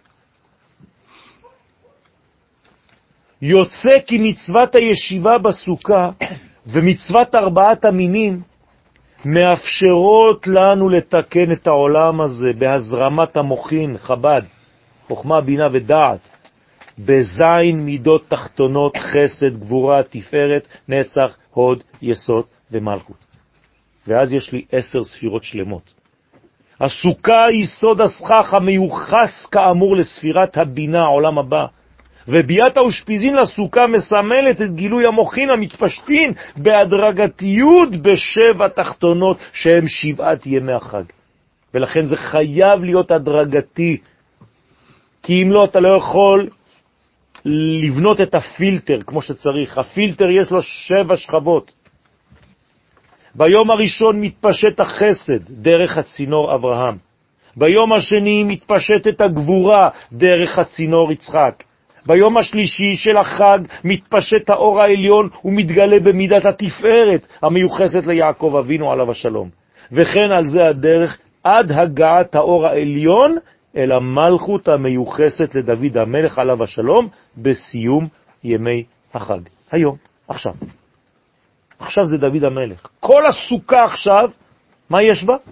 יוצא כי מצוות הישיבה בסוכה ומצוות ארבעת המינים מאפשרות לנו לתקן את העולם הזה בהזרמת המוחין, חב"ד, חוכמה, בינה ודעת, בזין מידות תחתונות, חסד, גבורה, תפארת, נצח, הוד, יסוד ומלכות. ואז יש לי עשר ספירות שלמות. הסוכה היא סוד הסכך המיוחס כאמור לספירת הבינה, העולם הבא. וביאת האושפיזין לסוכה מסמלת את גילוי המוחין המתפשטין בהדרגתיות בשבע תחתונות שהם שבעת ימי החג. ולכן זה חייב להיות הדרגתי, כי אם לא אתה לא יכול לבנות את הפילטר כמו שצריך. הפילטר יש לו שבע שכבות. ביום הראשון מתפשט החסד דרך הצינור אברהם. ביום השני מתפשט את הגבורה דרך הצינור יצחק. ביום השלישי של החג מתפשט האור העליון ומתגלה במידת התפארת המיוחסת ליעקב אבינו עליו השלום. וכן על זה הדרך עד הגעת האור העליון אל המלכות המיוחסת לדוד המלך עליו השלום בסיום ימי החג. היום, עכשיו. עכשיו זה דוד המלך. כל הסוכה עכשיו, מה יש בה?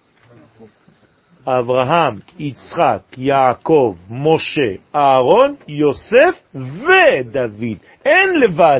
אברהם, יצחק, יעקב, משה, אהרון, יוסף ודוד. אין לבד.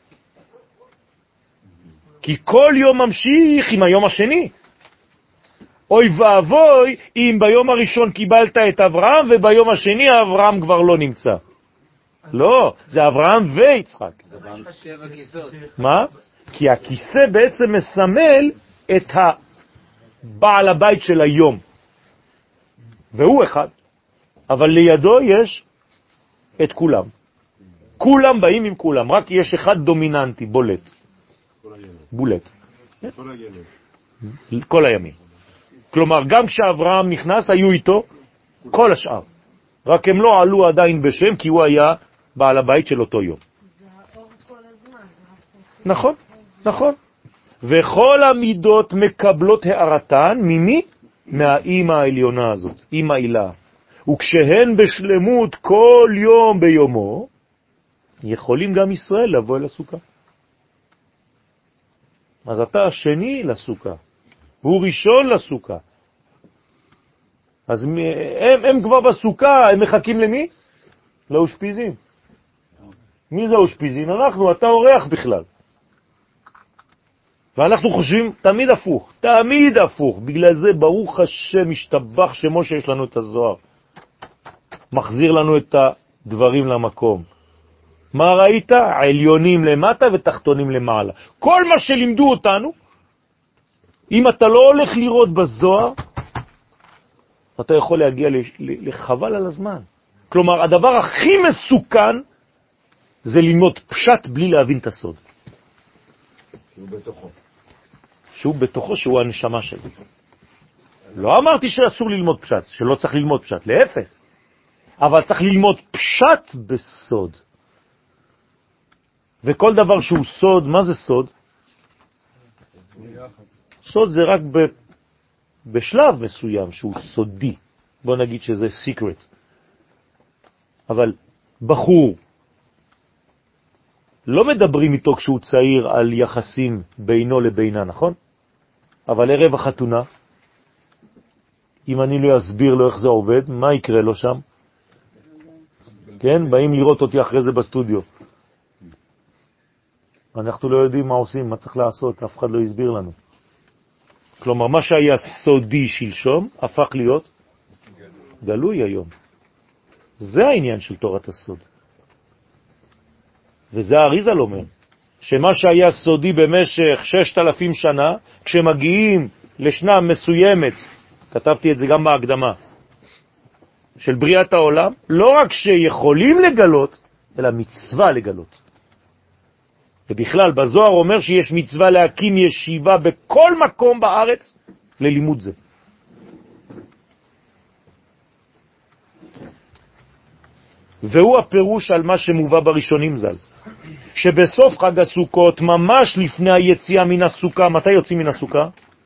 כי כל יום ממשיך עם היום השני. אוי ואבוי אם ביום הראשון קיבלת את אברהם וביום השני אברהם כבר לא נמצא. לא, זה אברהם ויצחק. מה? כי הכיסא בעצם מסמל את הבעל הבית של היום. והוא אחד. אבל לידו יש את כולם. כולם באים עם כולם. רק יש אחד דומיננטי, בולט. בולט. כל הימים. כלומר, גם כשאברהם נכנס, היו איתו כל השאר. רק הם לא עלו עדיין בשם, כי הוא היה בעל הבית של אותו יום. נכון, נכון. וכל המידות מקבלות הערתן, ממי? מהאימא העליונה הזאת, אימא אילה. וכשהן בשלמות כל יום ביומו, יכולים גם ישראל לבוא אל הסוכה. אז אתה השני לסוכה. הוא ראשון לסוכה. אז הם, הם כבר בסוכה, הם מחכים למי? לאושפיזין. מי זה האושפיזין? אנחנו, אתה אורח בכלל. ואנחנו חושבים תמיד הפוך, תמיד הפוך. בגלל זה ברוך השם משתבח שמו שיש לנו את הזוהר. מחזיר לנו את הדברים למקום. מה ראית? עליונים למטה ותחתונים למעלה. כל מה שלימדו אותנו, אם אתה לא הולך לראות בזוהר, אתה יכול להגיע לחבל על הזמן. כלומר, הדבר הכי מסוכן זה ללמוד פשט בלי להבין את הסוד. שהוא בתוכו. שהוא בתוכו, שהוא הנשמה שלי. לא אמרתי שאסור ללמוד פשט, שלא צריך ללמוד פשט, להפך. אבל צריך ללמוד פשט בסוד. וכל דבר שהוא סוד, מה זה סוד? סוד זה רק ב, בשלב מסוים שהוא סודי. בוא נגיד שזה secret. אבל בחור, לא מדברים איתו כשהוא צעיר על יחסים בינו לבינה, נכון? אבל ערב החתונה, אם אני לא אסביר לו איך זה עובד, מה יקרה לו שם? כן, באים לראות אותי אחרי זה בסטודיו. אנחנו לא יודעים מה עושים, מה צריך לעשות, אף אחד לא יסביר לנו. כלומר, מה שהיה סודי שלשום, הפך להיות גלוי היום. זה העניין של תורת הסוד. וזה האריז"ל אומר, שמה שהיה סודי במשך ששת אלפים שנה, כשמגיעים לשנה מסוימת, כתבתי את זה גם בהקדמה, של בריאת העולם, לא רק שיכולים לגלות, אלא מצווה לגלות. ובכלל, בזוהר אומר שיש מצווה להקים ישיבה בכל מקום בארץ, ללימוד זה. והוא הפירוש על מה שמובא בראשונים ז"ל, שבסוף חג הסוכות, ממש לפני היציאה מן הסוכה, מתי יוצאים מן הסוכה?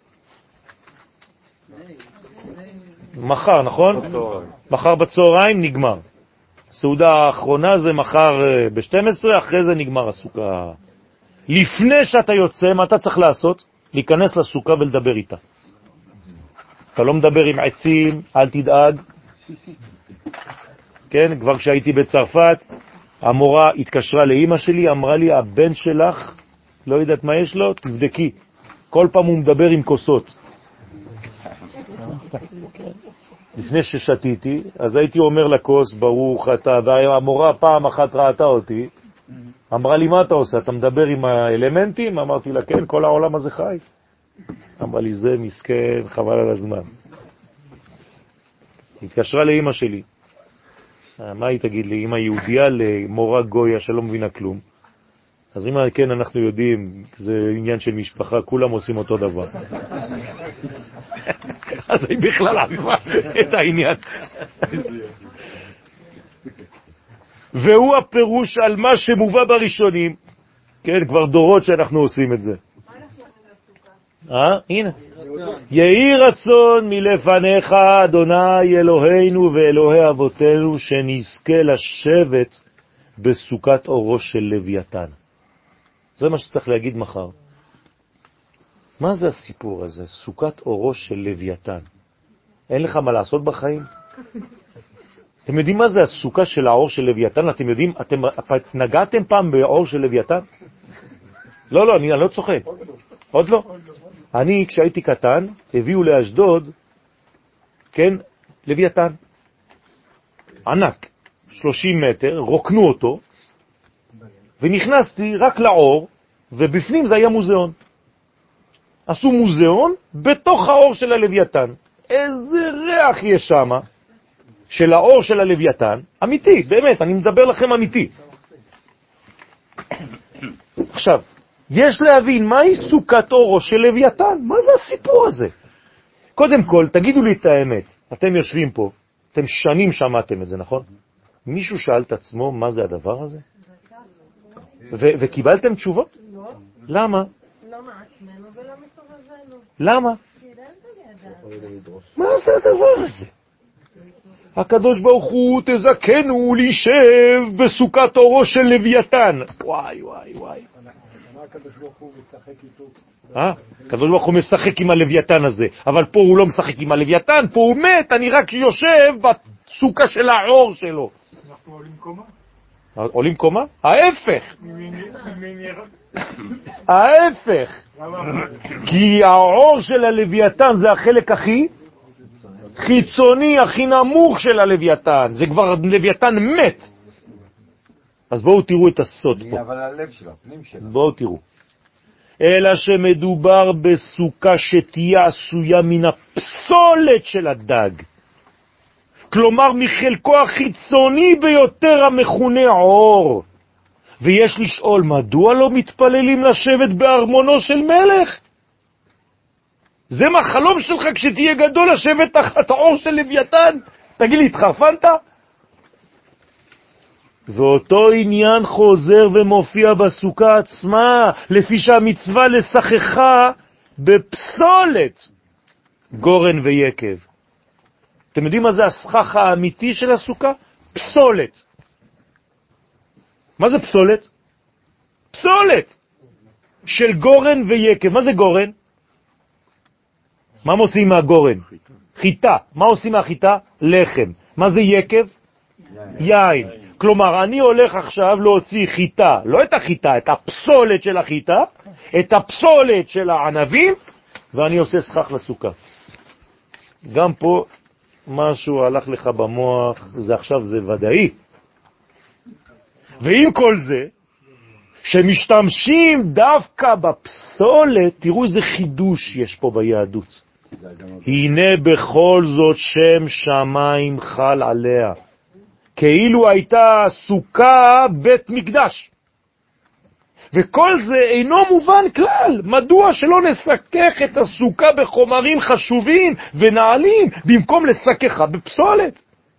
מחר, נכון? בצהריים. מחר בצהריים נגמר. הסעודה האחרונה זה מחר ב-שתים עשרה, אחרי זה נגמר הסוכה. לפני שאתה יוצא, מה אתה צריך לעשות? להיכנס לסוכה ולדבר איתה. אתה לא מדבר עם עצים, אל תדאג. כן, כבר כשהייתי בצרפת, המורה התקשרה לאמא שלי, אמרה לי, הבן שלך, לא יודעת מה יש לו, תבדקי. כל פעם הוא מדבר עם כוסות. לפני ששתיתי, אז הייתי אומר לכוס, ברוך אתה, והמורה פעם אחת ראתה אותי, אמרה לי, מה אתה עושה? אתה מדבר עם האלמנטים? אמרתי לה, כן, כל העולם הזה חי. אמרה לי, זה מסכן, חבל על הזמן. התקשרה לאמא שלי. מה היא תגיד לי? אמא יהודיה למורה גויה שלא מבינה כלום. אז אם כן, אנחנו יודעים, זה עניין של משפחה, כולם עושים אותו דבר. אז היא בכלל עזבה את העניין. והוא הפירוש על מה שמובא בראשונים. כן, כבר דורות שאנחנו עושים את זה. אה? הנה. יהי רצון מלפניך, אדוני אלוהינו ואלוהי אבותינו, שנזכה לשבת בסוכת אורו של לוויתן. זה מה שצריך להגיד מחר. מה זה הסיפור הזה? סוכת אורו של לוויתן. אין לך מה לעשות בחיים? אתם יודעים מה זה הסוכה של האור של לוויתן? אתם יודעים, אתם נגעתם פעם באור של לוויתן? לא, לא, אני לא צוחק. עוד לא? אני, כשהייתי קטן, הביאו לאשדוד, כן, לוויתן. ענק, שלושים מטר, רוקנו אותו, ונכנסתי רק לאור, ובפנים זה היה מוזיאון. עשו מוזיאון בתוך האור של הלוויתן. איזה ריח יש שם של האור של הלוויתן, אמיתי, באמת, אני מדבר לכם אמיתי. עכשיו, יש להבין מהי סוכת אורו של לוויתן, מה זה הסיפור הזה? קודם כל, תגידו לי את האמת, אתם יושבים פה, אתם שנים שמעתם את זה, נכון? מישהו שאל את עצמו מה זה הדבר הזה? ו- וקיבלתם תשובות? לא. למה? לא מעצמנו ולא מסובבנו. למה? כי אין בידע. מה זה הדבר הזה? הקדוש ברוך הוא תזכנו להישב בסוכת אורו של לוויתן. וואי וואי וואי. הקדוש ברוך הוא משחק איתו. אה? הקדוש ברוך הוא משחק עם הלוויתן הזה, אבל פה הוא לא משחק עם הלוויתן, פה הוא מת, אני רק יושב בסוכה של האור שלו. אנחנו עולים קומה? עולים קומה? ההפך. ההפך. כי האור של הלוויתן זה החלק הכי חיצוני, הכי נמוך של הלוויתן. זה כבר לוויתן מת. אז בואו תראו את הסוד פה. אבל הלב שלו, הפנים שלו. בואו תראו. אלא שמדובר בסוכה שתהיה עשויה מן הפסולת של הדג. כלומר מחלקו החיצוני ביותר המכונה עור. ויש לשאול, מדוע לא מתפללים לשבת בארמונו של מלך? זה מה חלום שלך כשתהיה גדול לשבת תחת העור של לוויתן? תגיד לי, התחרפנת? ואותו עניין חוזר ומופיע בסוכה עצמה, לפי שהמצווה לשחחה בפסולת גורן ויקב. אתם יודעים מה זה הסכך האמיתי של הסוכה? פסולת. מה זה פסולת? פסולת של גורן ויקב. מה זה גורן? מה מוצאים מהגורן? חיטה. מה עושים מהחיטה? לחם. מה זה יקב? יין. כלומר, אני הולך עכשיו להוציא חיטה, לא את החיטה, את הפסולת של החיטה, את הפסולת של הענבים, ואני עושה סכך לסוכה. גם פה משהו הלך לך במוח, זה עכשיו זה ודאי. ועם כל זה, שמשתמשים דווקא בפסולת, תראו איזה חידוש יש פה ביהדות. הנה בכל זאת שם שמיים חל עליה. כאילו הייתה סוכה בית מקדש. וכל זה אינו מובן כלל. מדוע שלא נסכך את הסוכה בחומרים חשובים ונעלים, במקום לסככה בפסולת?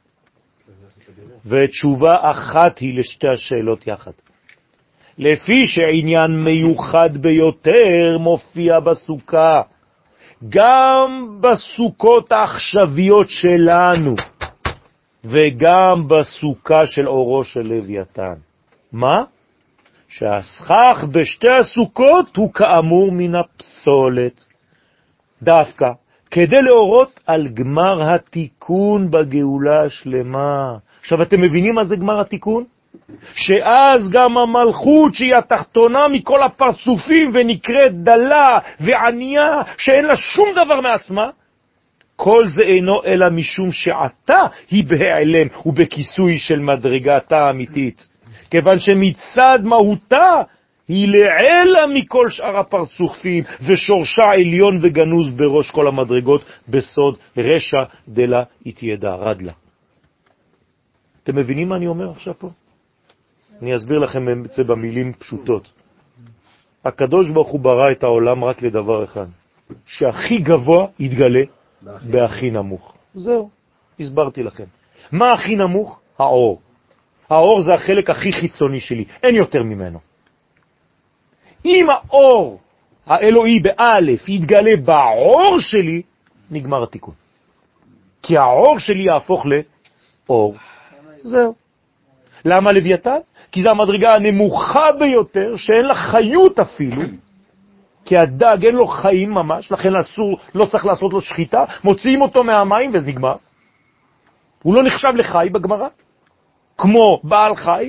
ותשובה אחת היא לשתי השאלות יחד. לפי שעניין מיוחד ביותר מופיע בסוכה, גם בסוכות העכשוויות שלנו, וגם בסוכה של אורו של לוויתן. מה? שהסכך בשתי הסוכות הוא כאמור מן הפסולת. דווקא כדי להורות על גמר התיקון בגאולה השלמה. עכשיו אתם מבינים מה זה גמר התיקון? שאז גם המלכות שהיא התחתונה מכל הפרצופים ונקראת דלה וענייה שאין לה שום דבר מעצמה, כל זה אינו אלא משום שעתה היא בהיעלם ובכיסוי של מדרגתה האמיתית, כיוון שמצד מהותה היא לעלה מכל שאר הפרצופים ושורשה עליון וגנוז בראש כל המדרגות בסוד רשע דלה התיידע רדלה. אתם מבינים מה אני אומר עכשיו פה? אני אסביר לכם את זה במילים פשוטות. הקדוש ברוך הוא ברא את העולם רק לדבר אחד, שהכי גבוה יתגלה בהכי נמוך. זהו, הסברתי לכם. מה הכי נמוך? האור. האור זה החלק הכי חיצוני שלי, אין יותר ממנו. אם האור האלוהי באלף יתגלה באור שלי, נגמר התיקון. כי האור שלי יהפוך לאור. זהו. למה לוויתן? כי זו המדרגה הנמוכה ביותר, שאין לה חיות אפילו, כי הדג אין לו חיים ממש, לכן אסור, לא צריך לעשות לו שחיטה, מוציאים אותו מהמים וזה נגמר. הוא לא נחשב לחי בגמרא, כמו בעל חי,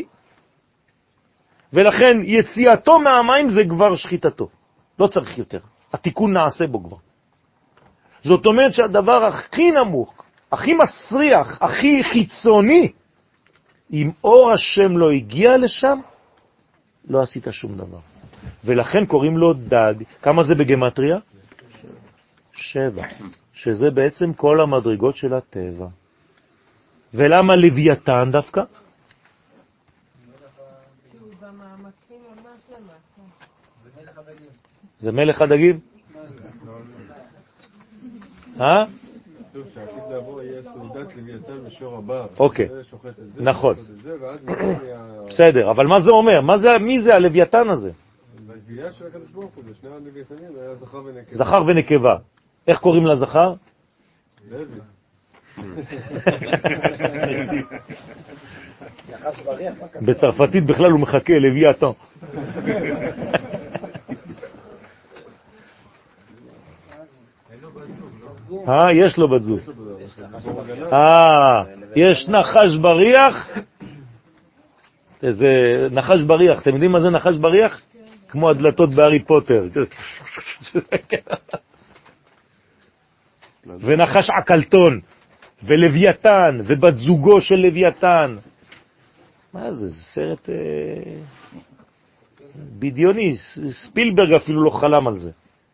ולכן יציאתו מהמים זה כבר שחיטתו. לא צריך יותר. התיקון נעשה בו כבר. זאת אומרת שהדבר הכי נמוך, הכי מסריח, הכי חיצוני, אם אור השם לא הגיע לשם, לא עשית שום דבר. ולכן קוראים לו דג. כמה זה בגמטריה? שבע. שזה בעצם כל המדרגות של הטבע. ולמה לוויתן דווקא? זה מלך הדגים? אה? שעתיד לבוא יהיה סעודת לוויתן בשור הבר. אוקיי, נכון. בסדר, אבל מה זה אומר? מי זה הלוויתן הזה? בגבייה של הקדוש ברוך הוא, לשני הלוויתנים היה זכר ונקבה. זכר ונקבה. איך קוראים לזכר? לוי. בצרפתית בכלל הוא מחכה לוויתן. אה, יש לו בת זוג. אה, יש נחש בריח. איזה נחש בריח, אתם יודעים מה זה נחש בריח? כמו הדלתות בהרי פוטר. ונחש עקלתון, ולוויתן, ובת זוגו של לוויתן. מה זה? זה סרט בדיוני, ספילברג אפילו לא חלם על זה.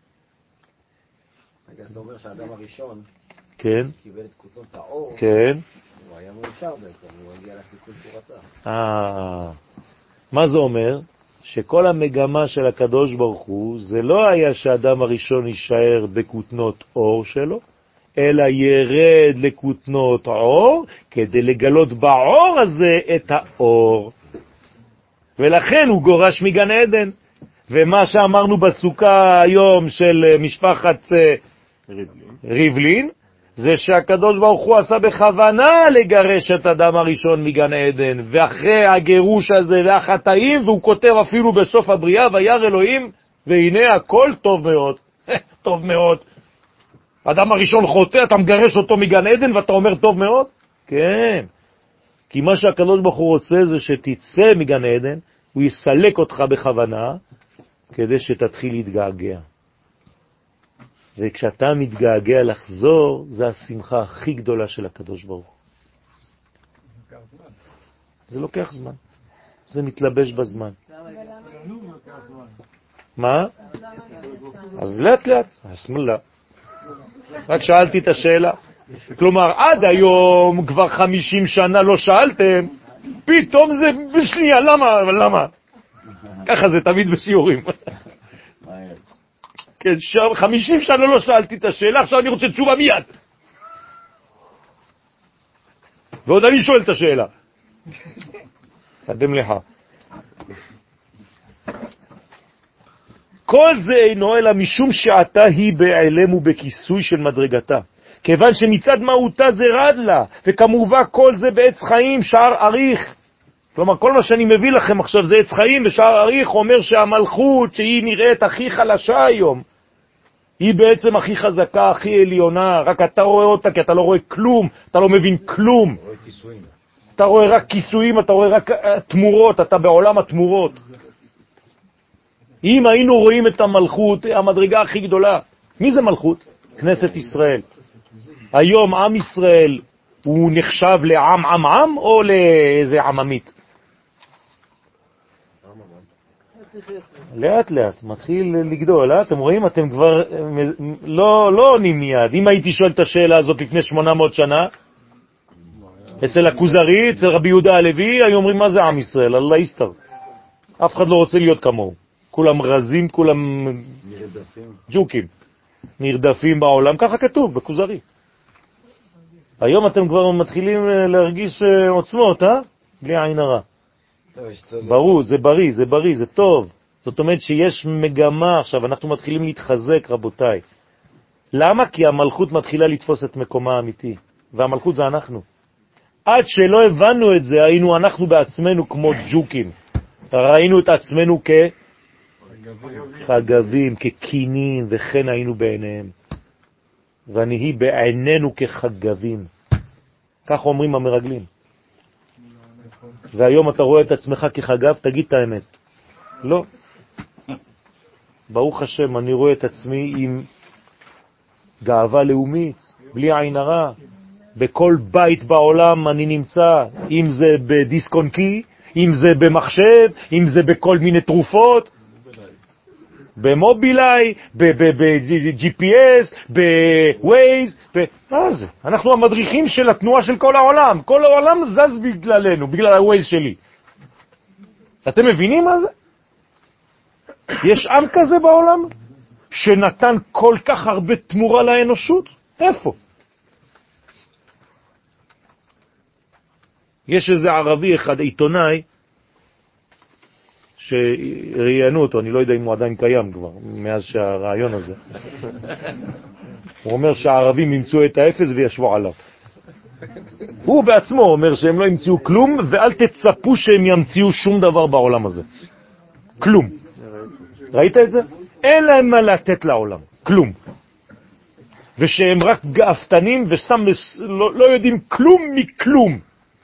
זה אומר שהאדם הראשון כן. קיבל את כותנות האור, כן. הוא היה מאושר בעצם, הוא הגיע לתיקון צורתה. אה, מה זה אומר? שכל המגמה של הקדוש ברוך הוא, זה לא היה שהאדם הראשון יישאר בכותנות אור שלו, אלא ירד לכותנות אור, כדי לגלות באור הזה את האור. ולכן הוא גורש מגן עדן. ומה שאמרנו בסוכה היום של משפחת ריבלין, ריבלין זה שהקדוש ברוך הוא עשה בכוונה לגרש את אדם הראשון מגן עדן, ואחרי הגירוש הזה והחטאים, והוא כותב אפילו בסוף הבריאה, וירא אלוהים והנה הכל טוב מאוד. טוב מאוד. אדם הראשון חוטא, אתה מגרש אותו מגן עדן ואתה אומר טוב מאוד? כן. כי מה שהקדוש ברוך הוא רוצה זה שתצא מגן עדן, הוא יסלק אותך בכוונה, כדי שתתחיל להתגעגע. וכשאתה מתגעגע לחזור, זה השמחה הכי גדולה של הקדוש ברוך הוא. זה לוקח זמן. זה מתלבש בזמן. מה? אז לאט לאט. הסמלה. רק שאלתי את השאלה. כלומר, עד היום כבר חמישים שנה לא שאלתם, פתאום זה בשנייה. למה? למה? ככה זה תמיד בשיעורים. כן, חמישים שנה לא שאלתי את השאלה, עכשיו אני רוצה תשובה מיד. ועוד אני שואל את השאלה. קדם לך. כל זה אינו אלא משום שעתה היא בעלם ובכיסוי של מדרגתה. כיוון שמצד מהותה זה רד לה, וכמובן כל זה בעץ חיים, שער אריך. כלומר, כל מה שאני מביא לכם עכשיו זה עץ חיים, ושער אריך אומר שהמלכות, שהיא נראית הכי חלשה היום, היא בעצם הכי חזקה, הכי עליונה, רק אתה רואה אותה, כי אתה לא רואה כלום, אתה לא מבין כלום. אתה רואה רק כיסויים, אתה רואה רק תמורות, אתה בעולם התמורות. אם היינו רואים את המלכות, המדרגה הכי גדולה, מי זה מלכות? כנסת ישראל. היום עם ישראל הוא נחשב לעם עם עם או לאיזה עממית? לאט לאט, מתחיל לגדול, אתם רואים? אתם כבר לא, לא עונים מיד. אם הייתי שואל את השאלה הזאת לפני שמונה מאות שנה, אצל הכוזרי, אצל רבי יהודה הלוי, היו אומרים מה זה עם ישראל? אללה יסתר. אף אחד לא רוצה להיות כמוהו. כולם רזים, כולם ג'וקים. נרדפים בעולם, ככה כתוב, בכוזרי. היום אתם כבר מתחילים להרגיש עוצמות, אה? בלי עין הרע. ברור, זה בריא, זה בריא, זה טוב. זאת אומרת שיש מגמה עכשיו, אנחנו מתחילים להתחזק, רבותיי. למה? כי המלכות מתחילה לתפוס את מקומה האמיתי. והמלכות זה אנחנו. עד שלא הבנו את זה, היינו אנחנו בעצמנו כמו ג'וקים. ראינו את עצמנו כחגבים, כקינים, וכן היינו בעיניהם. ונהי בעינינו כחגבים. כך אומרים המרגלים. והיום אתה רואה את עצמך כחגב, תגיד את האמת. לא. ברוך השם, אני רואה את עצמי עם גאווה לאומית, בלי עין הרע. בכל בית בעולם אני נמצא, אם זה בדיסק-און-קי, אם זה במחשב, אם זה בכל מיני תרופות, במובילאי, ב-ג'י פי אס, בווייז, מה זה? אנחנו המדריכים של התנועה של כל העולם. כל העולם זז בגללנו, בגלל הווייז שלי. אתם מבינים מה זה? יש עם כזה בעולם שנתן כל כך הרבה תמורה לאנושות? איפה? יש איזה ערבי אחד, עיתונאי, שראיינו אותו, אני לא יודע אם הוא עדיין קיים כבר, מאז שהרעיון הזה. הוא אומר שהערבים ימצאו את האפס וישבו עליו. הוא בעצמו אומר שהם לא ימצאו כלום, ואל תצפו שהם ימציאו שום דבר בעולם הזה. כלום. ראית את זה? אין להם מה לתת לעולם. כלום. ושהם רק גאפתנים וסתם לא, לא יודעים כלום מכלום.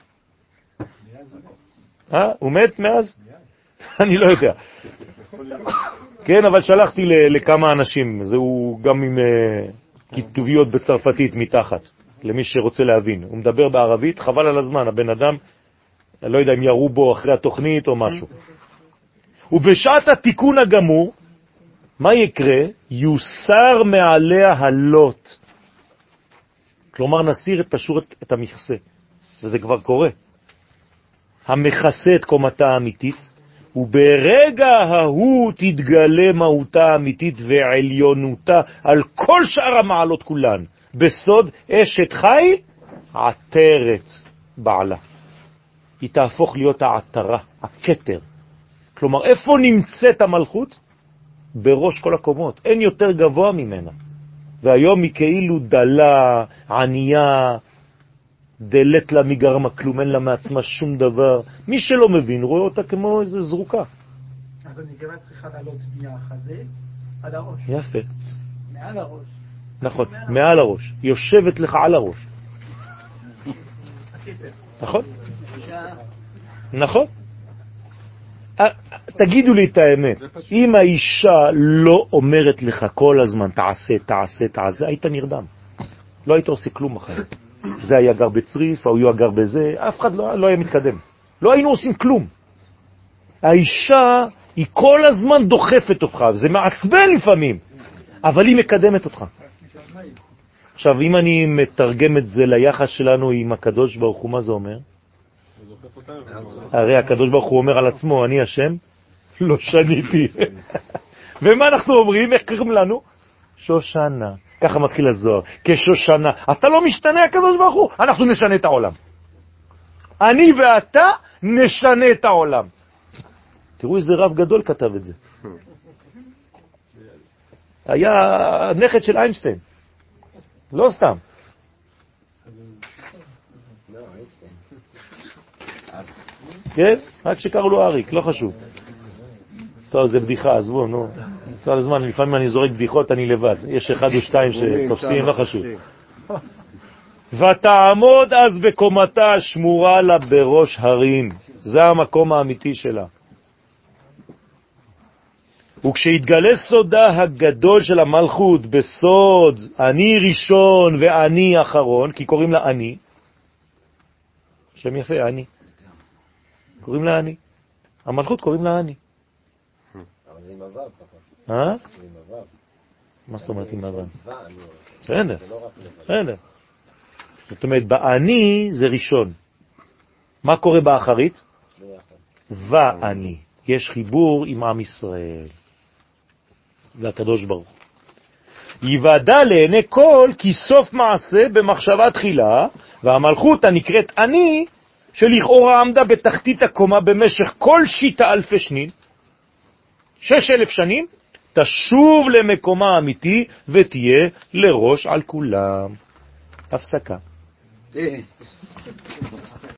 אה? הוא מת מאז? אני לא יודע. כן, אבל שלחתי לכמה אנשים, זהו גם עם כתוביות בצרפתית מתחת, למי שרוצה להבין. הוא מדבר בערבית, חבל על הזמן, הבן אדם, אני לא יודע אם יראו בו אחרי התוכנית או משהו. ובשעת התיקון הגמור, מה יקרה? יוסר מעליה הלוט. כלומר, נסיר את פשוט את המכסה. וזה כבר קורה. המכסה את קומתה האמיתית, וברגע ההוא תתגלה מהותה האמיתית ועליונותה על כל שאר המעלות כולן. בסוד אשת חיל, עטרת בעלה. היא תהפוך להיות העטרה, הכתר. כלומר, איפה נמצאת המלכות? בראש כל הקומות. אין יותר גבוה ממנה. והיום היא כאילו דלה, ענייה, דלת לה מגרמה כלום, אין לה מעצמה שום דבר. מי שלא מבין רואה אותה כמו איזה זרוקה. אז אני גם צריכה לעלות מהחזה עד הראש. יפה. מעל הראש. נכון, מעל הראש. היא יושבת לך על הראש. נכון? נכון. תגידו לי את האמת, אם האישה לא אומרת לך כל הזמן תעשה, תעשה, תעשה, היית נרדם. לא היית עושה כלום אחרת. זה היה גר בצריף, או היה גר בזה, אף אחד לא, לא היה מתקדם. לא היינו עושים כלום. האישה היא כל הזמן דוחפת אותך, זה מעצבן לפעמים, אבל היא מקדמת אותך. עכשיו, אם אני מתרגם את זה ליחס שלנו עם הקדוש ברוך הוא, מה זה אומר? הרי הקדוש ברוך הוא אומר על עצמו, אני השם לא שניתי. ומה אנחנו אומרים? איך קוראים לנו? שושנה. ככה מתחיל הזוהר, כשושנה. אתה לא משתנה, הקדוש ברוך הוא, אנחנו נשנה את העולם. אני ואתה נשנה את העולם. תראו איזה רב גדול כתב את זה. היה נכד של איינשטיין. לא סתם. כן? רק שקראו לו אריק, לא חשוב. טוב, זה בדיחה, עזבו, נו. כל הזמן, לפעמים אני זורק בדיחות, אני לבד. יש אחד או שתיים שתופסים, לא חשוב. ותעמוד אז בקומתה שמורה לה בראש הרים. זה המקום האמיתי שלה. וכשהתגלה סודה הגדול של המלכות בסוד אני ראשון ואני אחרון, כי קוראים לה אני, שם יפה, אני. קוראים לה אני. המלכות קוראים לה אני. אבל זה עם הוו, פחות. אה? זה עם הוו. מה זאת אומרת עם הוו? ואני. בסדר. זה לא רק לבד. בסדר. זאת אומרת, באני זה ראשון. מה קורה באחרית? ואני. יש חיבור עם עם ישראל. והקדוש ברוך. יוודע לעיני כל כי סוף מעשה במחשבה תחילה, והמלכות הנקראת אני, שלכאורה עמדה בתחתית הקומה במשך כל שיטה אלפי שנים, שש אלף שנים, תשוב למקומה האמיתי ותהיה לראש על כולם. הפסקה.